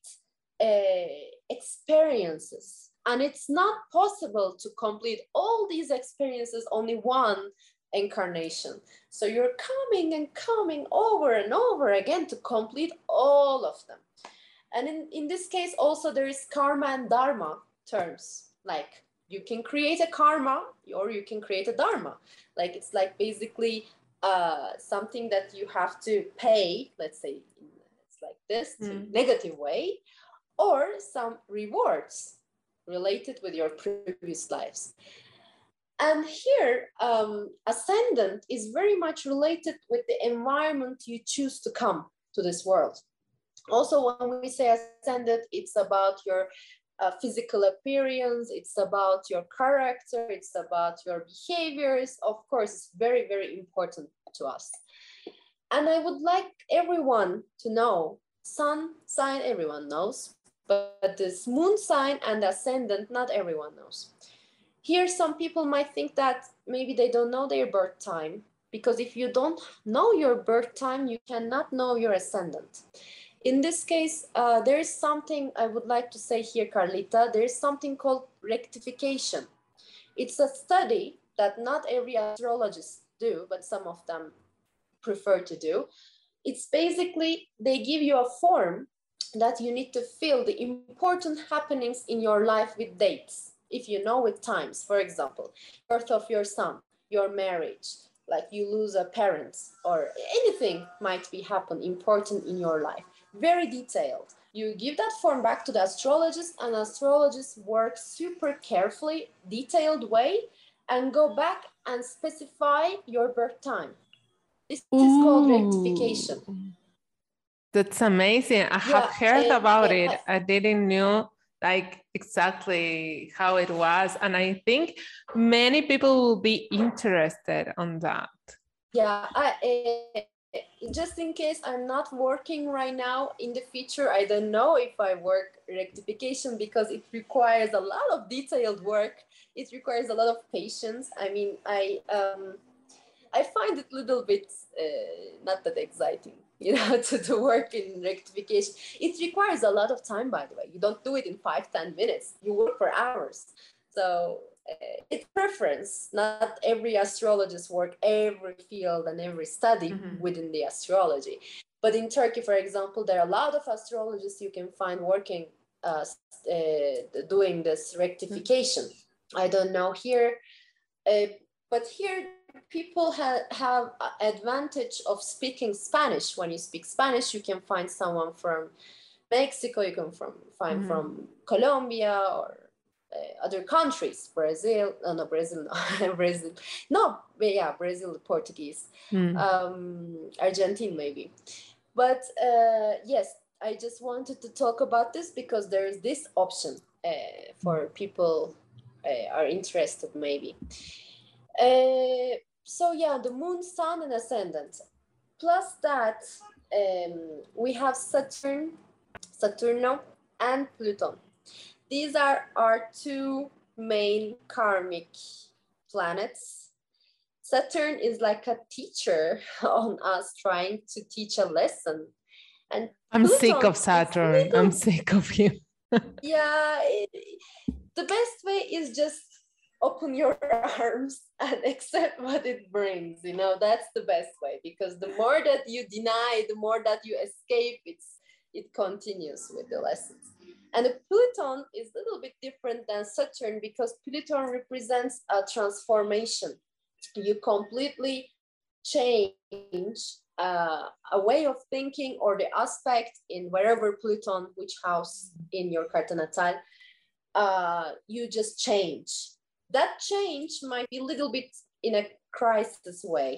uh, experiences, and it's not possible to complete all these experiences only one incarnation. So you're coming and coming over and over again to complete all of them. And in, in this case also there is karma and dharma terms. Like you can create a karma or you can create a dharma. Like it's like basically uh, something that you have to pay, let's say it's like this, mm. to negative way, or some rewards related with your previous lives. And here, um, ascendant is very much related with the environment you choose to come to this world. Also, when we say ascendant, it's about your uh, physical appearance, it's about your character, it's about your behaviors. Of course, it's very, very important to us. And I would like everyone to know, sun sign, everyone knows, but this moon sign and ascendant, not everyone knows. Here, some people might think that maybe they don't know their birth time, because if you don't know your birth time, you cannot know your ascendant. In this case, uh, there is something I would like to say here, Carlita. There is something called rectification. It's a study that not every astrologist do, but some of them prefer to do. It's basically, they give you a form that you need to fill the important happenings in your life with dates. If you know with times, for example, birth of your son, your marriage, like you lose a parent, or anything might be happen important in your life. Very detailed. You give that form back to the astrologist, and astrologists work super carefully, detailed way, and go back and specify your birth time. This Ooh. Is called rectification. That's amazing. I have yeah, heard uh, about uh, it. I didn't know like exactly how it was. And I think many people will be interested on that. Yeah, I, uh, just in case I'm not working right now, in the future, I don't know if I work rectification because it requires a lot of detailed work. It requires a lot of patience. I mean, I, um, I find it a little bit uh, not that exciting, you know, to, to work in rectification. It requires a lot of time, by the way. You don't do it in five, ten minutes. You work for hours. So uh, it's preference. Not every astrologist work every field and every study mm-hmm. within the astrology. But in Turkey, for example, there are a lot of astrologists you can find working, uh, uh, doing this rectification. Mm-hmm. I don't know here, uh, but here, people have, have advantage of speaking Spanish. When you speak Spanish, you can find someone from Mexico, you can from, find mm-hmm. from Colombia or uh, other countries, Brazil, no, no Brazil, no, Brazil, no, yeah, Brazil, Portuguese, mm. um, Argentine maybe. But uh, yes, I just wanted to talk about this because there is this option uh, for people uh, are interested maybe. Uh, so yeah, the moon, sun, and ascendant. Plus that, um, we have Saturn, Saturno, and Pluto. These are our two main karmic planets. Saturn is like a teacher on us trying to teach a lesson. And I'm Pluton sick of Saturn. Little... I'm sick of him. Yeah, it, the best way is just open your arms and accept what it brings. You know, that's the best way, because the more that you deny, the more that you escape, it's it continues with the lessons. And the Pluton is a little bit different than Saturn because Pluton represents a transformation. You completely change uh, a way of thinking or the aspect in wherever Pluton, which house in your Carta Natal, uh, you just change. That change might be a little bit in a crisis way.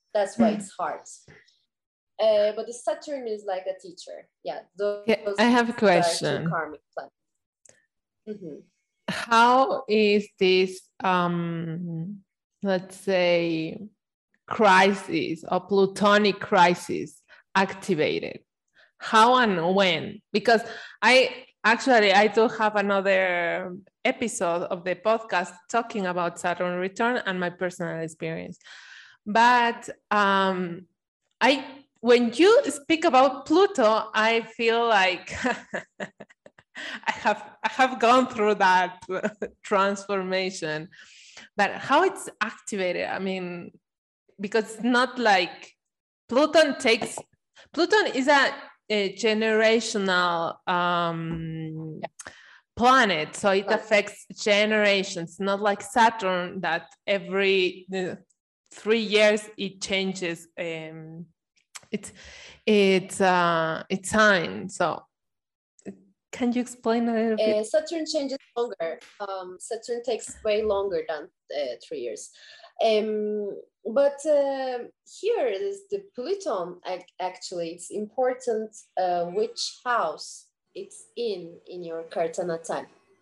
That's why it's hard. Uh, but the Saturn is like a teacher. Yeah. Those, Yeah, I have a question. Two karmic planets. Mm-hmm. How is this, um, let's say, crisis or plutonic crisis activated? How and when? Because I actually, I do have another episode of the podcast talking about Saturn return and my personal experience. But um, I, when you speak about Pluto, I feel like I have I have gone through that transformation. But how it's activated, I mean, because it's not like Pluton takes, Pluton is a, a generational um, planet, so it affects generations, not like Saturn that every uh, three years it changes um, its its uh, its sign. So can you explain a little bit? Uh, Saturn changes longer. Um, Saturn takes way longer than uh, three years. Um, but uh, here is the Pluton. Actually, it's important uh, which house it's in in your Carta Natal.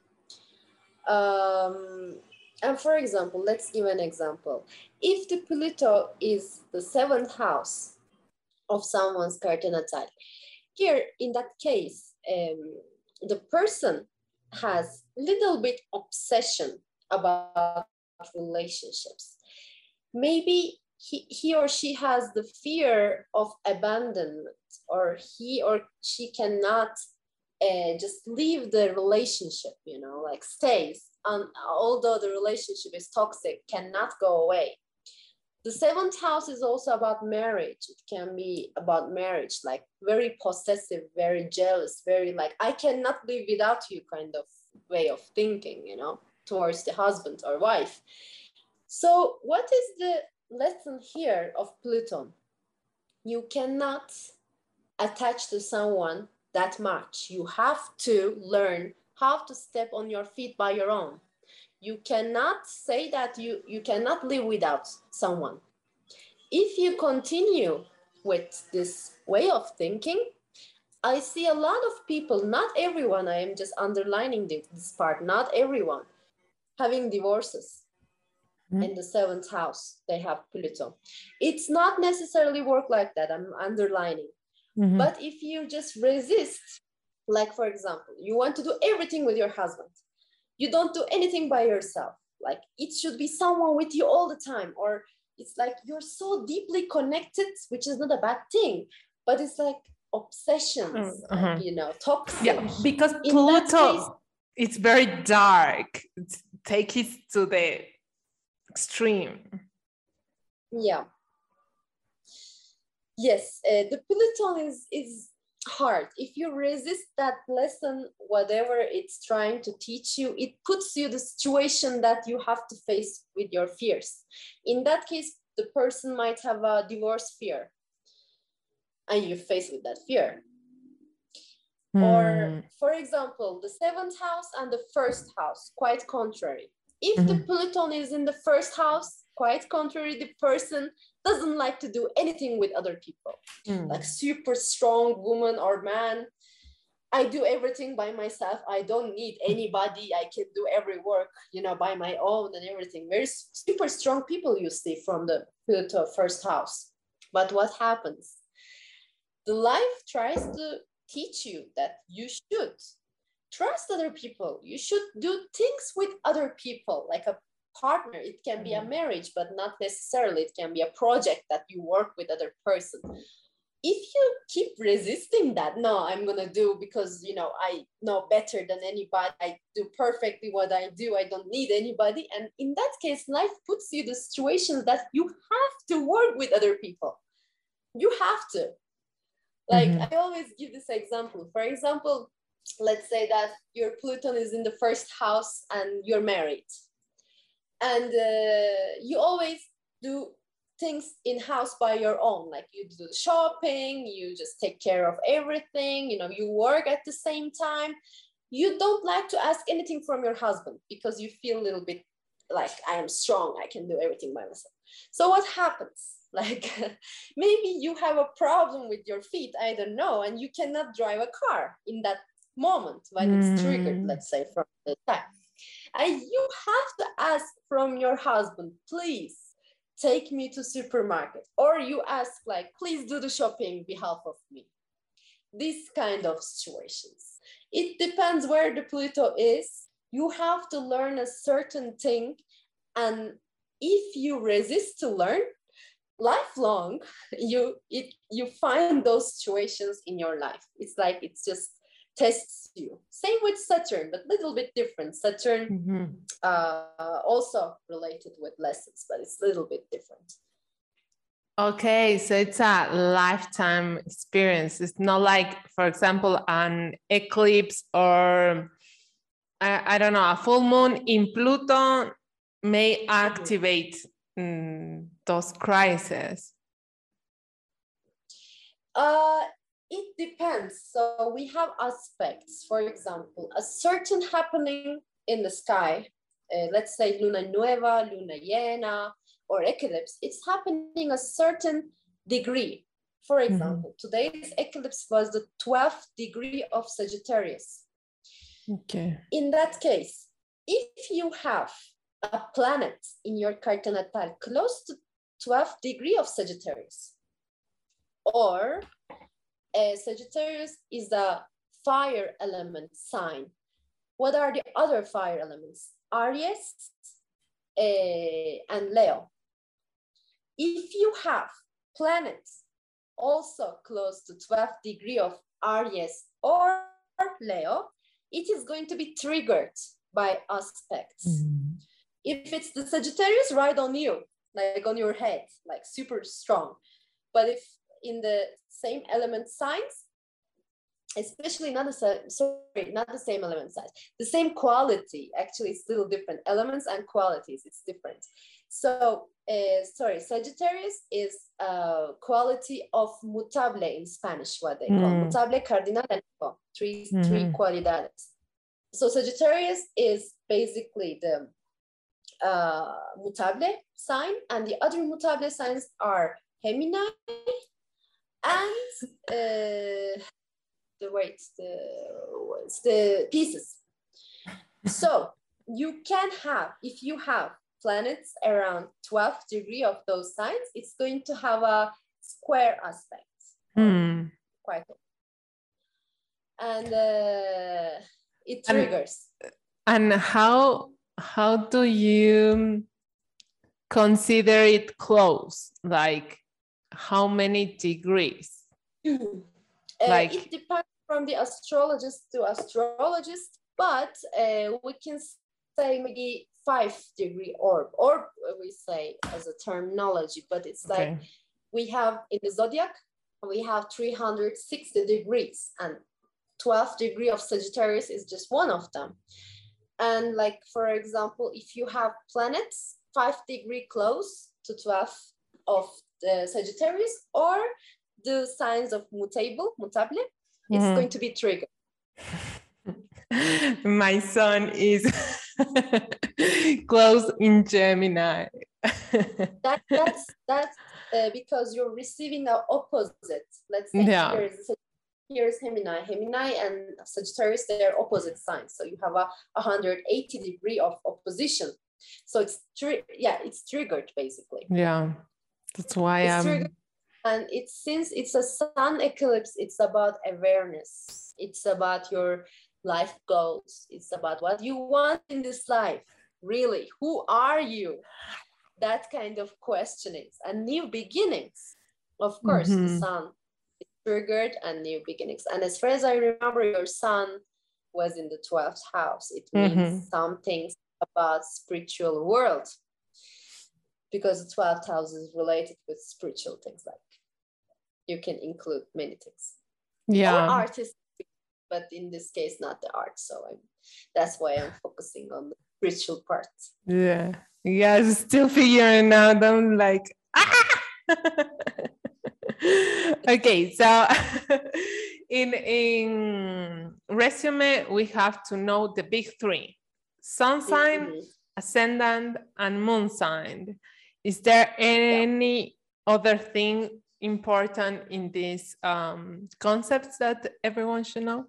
Um, and for example, let's give an example. If the Pluto is the seventh house of someone's Carta Natal, here in that case, um, the person has little bit obsession about relationships. Maybe he, he or she has the fear of abandonment, or he or she cannot uh, just leave the relationship, you know, like stays. And although the relationship is toxic, cannot go away. The seventh house is also about marriage. It can be about marriage, like very possessive, very jealous, very like, I cannot live without you kind of way of thinking, you know, towards the husband or wife. So what is the lesson here of Pluto? You cannot attach to someone that much. You have to learn how to step on your feet by your own. You cannot say that you, you cannot live without someone. If you continue with this way of thinking, I see a lot of people, not everyone, I am just underlining this part, not everyone, having divorces. Mm-hmm. In the seventh house, they have Pluto. It's not necessarily work like that, I'm underlining. Mm-hmm. But if you just resist, like for example, you want to do everything with your husband, you don't do anything by yourself, like it should be someone with you all the time, or it's like you're so deeply connected, which is not a bad thing, but it's like obsessions, uh-huh. like, you know, toxic. Yeah, because in Pluto, case, it's very dark. It's, take it to the extreme. Yeah. Yes, uh, the Pluton is is hard. If you resist that lesson, whatever it's trying to teach you, it puts you the situation that you have to face with your fears. In that case, the person might have a divorce fear, and you face with that fear. Mm. Or, for example, the seventh house and the first house, quite contrary. If mm-hmm. the Pluton is in the first house, quite contrary, the person doesn't like to do anything with other people. Mm. Like super strong woman or man, I do everything by myself. I don't need anybody. I can do every work, you know, by my own and everything. Very super strong people you see from the Pluto first house. But what happens? The life tries to teach you that you should trust other people. You should do things with other people, like a partner. It can be a marriage, but not necessarily. It can be a project that you work with other person. If you keep resisting that, no, I'm gonna do because, you know, I know better than anybody. I do perfectly what I do. I don't need anybody. And in that case, life puts you the situation that you have to work with other people. You have to. Like, mm-hmm. I always give this example. For example, let's say that your Pluton is in the first house and you're married. And uh, you always do things in-house by your own, like you do shopping, you just take care of everything, you know, you work at the same time. You don't like to ask anything from your husband because you feel a little bit like, I am strong, I can do everything by myself. So what happens? Like maybe you have a problem with your feet, I don't know, and you cannot drive a car in that moment when mm. it's triggered, let's say, from the time. And you have to ask from your husband, please take me to supermarket. Or you ask like, please do the shopping on behalf of me. These kind of situations. It depends where the Pluto is. You have to learn a certain thing. And if you resist to learn, lifelong, you, it, you find those situations in your life. It's like, it's just tests you. Same with Saturn, but a little bit different. Saturn mm-hmm. uh, also related with lessons, but it's a little bit different. Okay, so it's a lifetime experience. It's not like, for example, an eclipse or, I, I don't know, a full moon in Pluto may activate mm, those crises. Uh, It depends. So we have aspects, for example, a certain happening in the sky, uh, let's say Luna Nueva, Luna Llena, or eclipse, it's happening a certain degree. For example, mm-hmm. today's eclipse was the twelfth degree of Sagittarius. Okay. In that case, if you have a planet in your Carta Natal close to twelfth degree of Sagittarius, or Uh, Sagittarius is a fire element sign. What are the other fire elements? Aries uh, and Leo. If you have planets also close to twelfth degree of Aries or Leo, it is going to be triggered by aspects. Mm-hmm. If it's the Sagittarius, right on you, like on your head, like super strong. But if in the same element signs, especially not the sorry, not the same element signs, the same quality, actually it's little different, elements and qualities, it's different. So, uh, sorry, Sagittarius is a quality of mutable in Spanish, what they call mm. mutable, cardinal, and three, mm-hmm. three cualidades. So Sagittarius is basically the uh, mutable sign, and the other mutable signs are Gemini, and uh, the wait, the what's the pieces. So you can have, if you have planets around twelfth degree of those signs, it's going to have a square aspect. Mm. Quite. And uh, it triggers. And, and how how do you consider it close? Like, how many degrees? uh, like it depends from the astrologist to astrologist, but uh, we can say maybe five degree orb, or we say as a terminology, but it's okay. Like we have in the zodiac, we have three hundred sixty degrees, and twelfth degree of Sagittarius is just one of them. And like, for example, if you have planets five degree close to twelfth of the Sagittarius, or the signs of mutable, mutable, it's mm-hmm. going to be triggered. My son is close in Gemini. that, that's that's uh, because you're receiving the opposite. Let's say yeah. here's, here's Gemini. Gemini and Sagittarius, they're opposite signs. So you have a one hundred eighty degree of opposition. So it's tri- yeah, it's triggered basically. Yeah. That's why I'm... Um... And it's, since it's a sun eclipse, it's about awareness. It's about your life goals. It's about what you want in this life. Really, who are you? That kind of questionings and new beginnings. Of course, mm-hmm. the sun is triggered and new beginnings. And as far as I remember, your sun was in the twelfth house. It means mm-hmm. some things about spiritual world. Because the twelfth house is related with spiritual things, like you can include many things. Yeah. Or artists, but in this case, not the art. So I'm, that's why I'm focusing on the spiritual part. Yeah. Yeah, I'm still figuring out. I'm like, ah! Okay, so in, in resume, we have to know the big three: sun sign, mm-hmm. ascendant, and moon sign. Is there any other thing important in these um, concepts that everyone should know?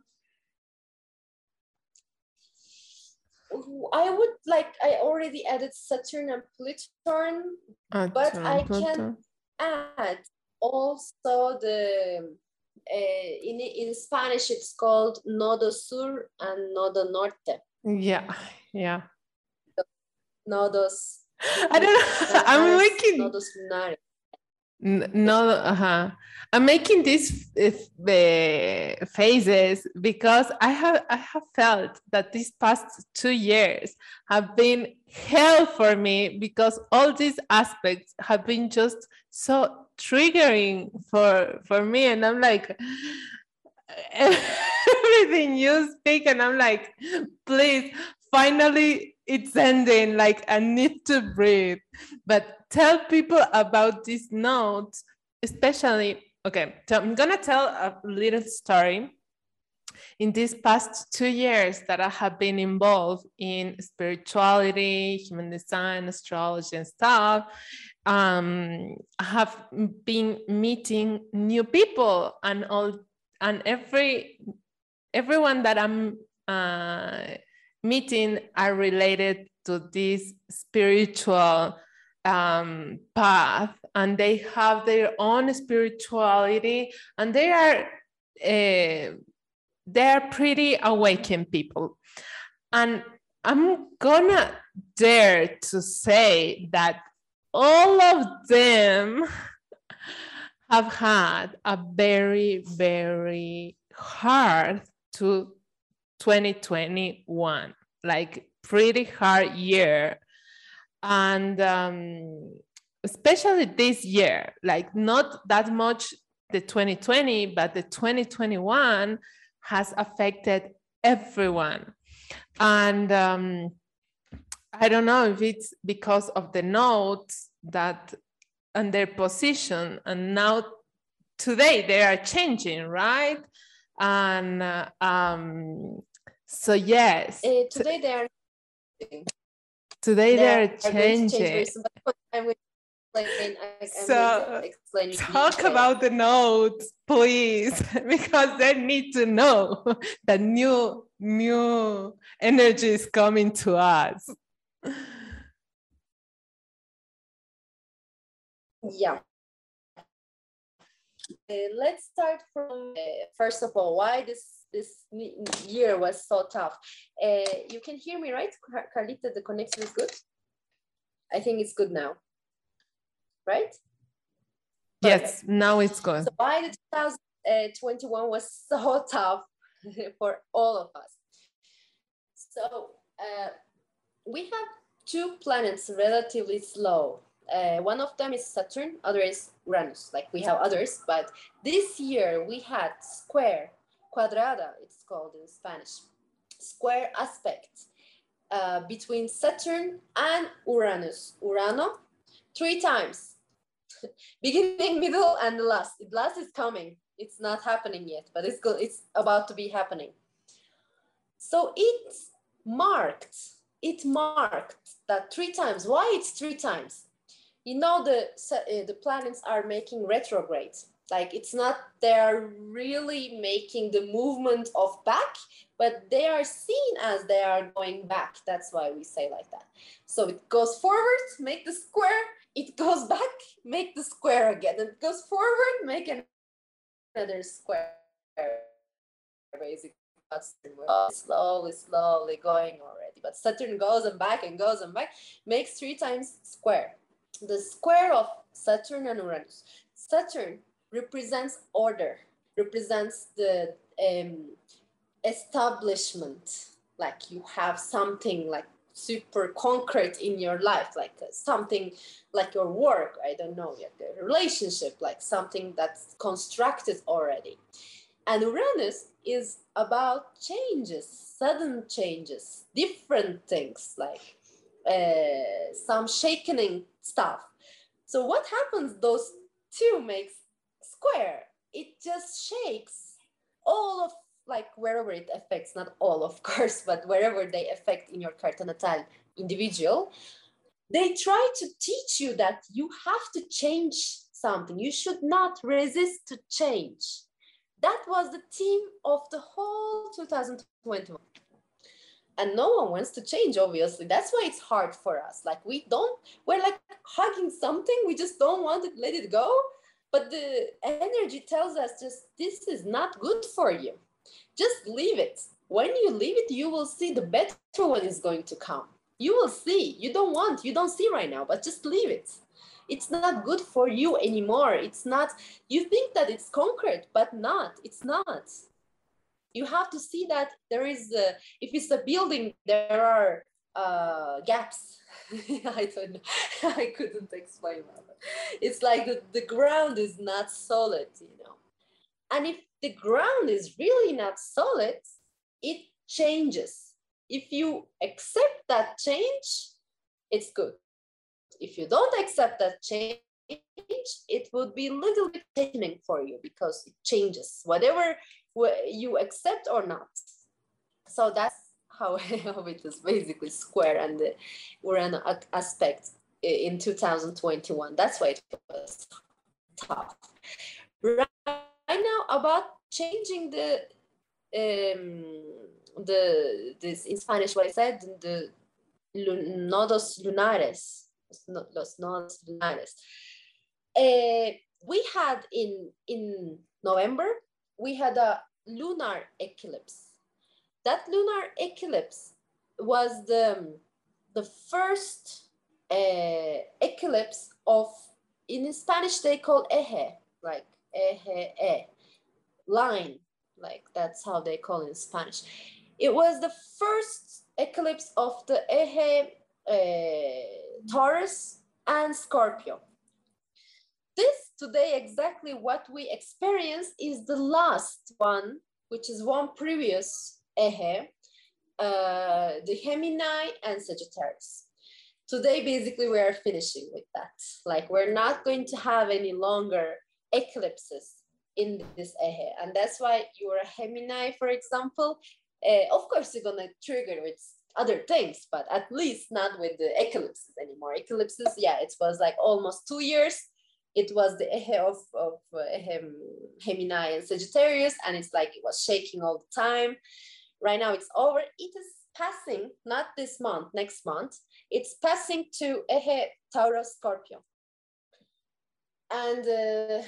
I would like, I already added Saturn and Pluton, Uh, but I Pluto. can add also the, uh, in, in Spanish, it's called Nodo Sur and Nodo Norte. Yeah, yeah. Nodos. I don't know. I'm making. Nodos lunares. No, uh-huh. I'm making these uh, phases because I have I have felt that these past two years have been hell for me because all these aspects have been just so triggering for for me, and I'm like everything you speak, and I'm like, please, finally it's ending. Like I need to breathe, but. Tell people about these notes, especially, okay, so I'm gonna tell a little story. In these past two years that I have been involved in spirituality, human design, astrology and stuff, um, I have been meeting new people, and all, and every everyone that I'm uh, meeting are related to this spiritual Um, path, and they have their own spirituality, and they are uh, they are pretty awakened people. And I'm gonna dare to say that all of them have had a very, very hard to twenty twenty-one, like pretty hard year. And um, especially this year, like not that much the twenty twenty, but the twenty twenty-one has affected everyone. And um, I don't know if it's because of the notes that and their position, and now today they are changing, right? And uh, um, so yes. Uh, today they are Today they're, they're changing. I'm explain, I'm so talk detail. About the notes, please, because they need to know that new new energy is coming to us. Yeah. Uh, let's start from uh, first of all, why this this year was so tough. Uh, you can hear me, right, Carlita? The connection is good. I think it's good now, right? Yes, Perfect. Now it's good. So why the two thousand twenty-one was so tough for all of us? So uh, we have two planets relatively slow. Uh, one of them is Saturn, other is Uranus, like we have others, but this year we had square, cuadrada, it's called in Spanish, square aspect uh, between Saturn and Uranus. Urano, three times, beginning, middle, and the last. The last is coming. It's not happening yet, but it's good. It's about to be happening. So it marked, it marked that three times. Why it's three times? You know, the, uh, the planets are making retrograde. Like it's not, they're really making the movement of back, but they are seen as they are going back. That's why we say like that. So it goes forward, make the square, it goes back, make the square again. It goes forward, make another square. Basically, slowly, slowly going already. But Saturn goes and back and goes and back, makes three times square. The square of Saturn and Uranus. Saturn represents order, represents the um, establishment, like you have something like super concrete in your life, like uh, something like your work, I don't know, like a relationship, like something that's constructed already. And Uranus is about changes, sudden changes, different things, like uh, some shaking stuff. So what happens, those two makes square, it just shakes all of, like wherever it affects, not all of course, but wherever they affect in your carta natal individual, they try to teach you that you have to change something. You should not resist to change. That was the theme of the whole two thousand twenty-one. And no one wants to change, obviously. That's why it's hard for us. Like we don't, we're like hugging something. We just don't want to let it go. But the energy tells us just, this is not good for you. Just leave it. When you leave it, you will see the better one is going to come. You will see. You don't want, you don't see right now, but just leave it. It's not good for you anymore. It's not, you think that it's conquered, but not, it's not. You have to see that there is, a, if it's a building, there are uh, gaps. I don't know, I couldn't explain that. It's like the, the ground is not solid, you know. And if the ground is really not solid, it changes. If you accept that change, it's good. If you don't accept that change, it would be a little bit threatening for you because it changes, whatever you accept or not. So that's how, how it is basically square, and the, we're an aspect in two thousand twenty-one. That's why it was tough. Right now, about changing the um, the this in Spanish, what I said, the nodos lunares, los nodos lunares. Uh, we had in in November, we had a lunar eclipse. That lunar eclipse was the, the first uh, eclipse of, in Spanish they call eje, like eje, e, line, like that's how they call it in Spanish. It was the first eclipse of the eje, uh, Taurus and Scorpio. This today, exactly what we experience, is the last one, which is one previous eje, uh, the Gemini and Sagittarius. Today, basically, we are finishing with that. Like, we're not going to have any longer eclipses in this eje. And that's why you're a Gemini, for example. Uh, of course, you're going to trigger with other things, but at least not with the eclipses anymore. Eclipses, yeah, it was like almost two years. It was the eje of, of uh, Gemini and Sagittarius, and it's like it was shaking all the time. Right now it's over. It is passing, not this month, next month. It's passing to eje Taurus Scorpio. And uh,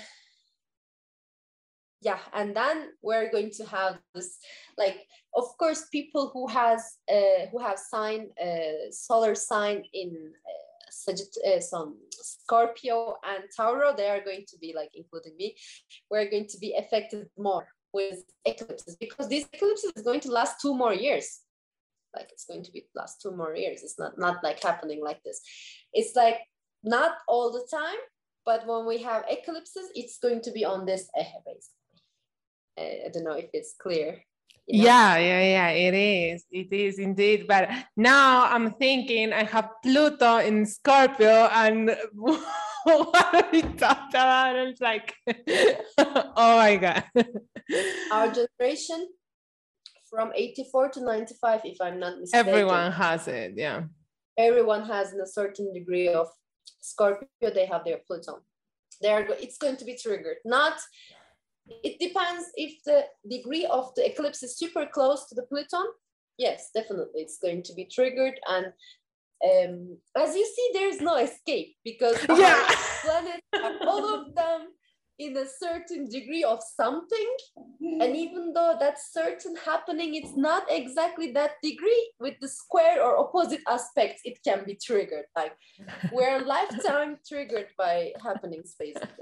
yeah, and then we're going to have this, like, of course, people who has uh, who have sign uh, solar sign in uh, Uh, some Scorpio and Tauro, they are going to be, like, including me, we're going to be affected more with eclipses, because this eclipse is going to last two more years. Like, it's going to be last two more years. It's not not like happening like this. It's like not all the time, but when we have eclipses, it's going to be on this eje, basically. uh, I don't know if it's clear. You know? Yeah, yeah, yeah, it is. It is indeed. But now I'm thinking I have Pluto in Scorpio, and what are we talking about? It's like, oh my God. Our generation from eighty-four to ninety-five, if I'm not mistaken. Everyone has it, yeah. Everyone has in a certain degree of Scorpio, they have their Pluto. They're, it's going to be triggered. Not, it depends if the degree of the eclipse is super close to the Pluton. Yes, definitely, it's going to be triggered. And um, as you see, there's no escape, because yeah. our planets are all of them in a certain degree of something. And even though that's certain happening, it's not exactly that degree. With the square or opposite aspects, it can be triggered. Like, we're lifetime triggered by happenings, basically.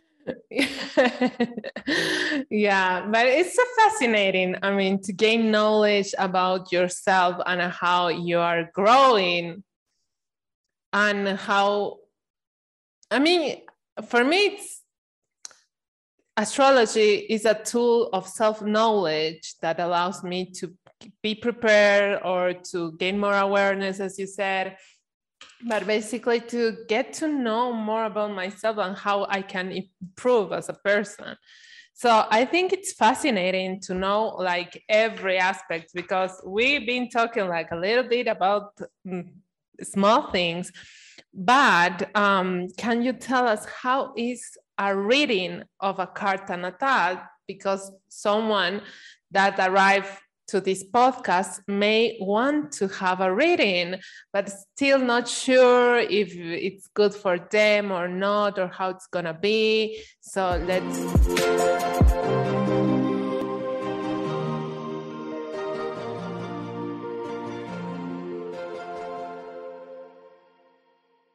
Yeah, but it's so fascinating. I mean, to gain knowledge about yourself and how you are growing, and how, I mean, for me, it's, astrology is a tool of self-knowledge that allows me to be prepared or to gain more awareness, as you said, but basically to get to know more about myself and how I can improve as a person. So I think it's fascinating to know, like, every aspect, because we've been talking like a little bit about mm, small things, but um, can you tell us how is a reading of a Carta Natal, because someone that arrived to this podcast may want to have a reading, but still not sure if it's good for them or not, or how it's gonna be. So let's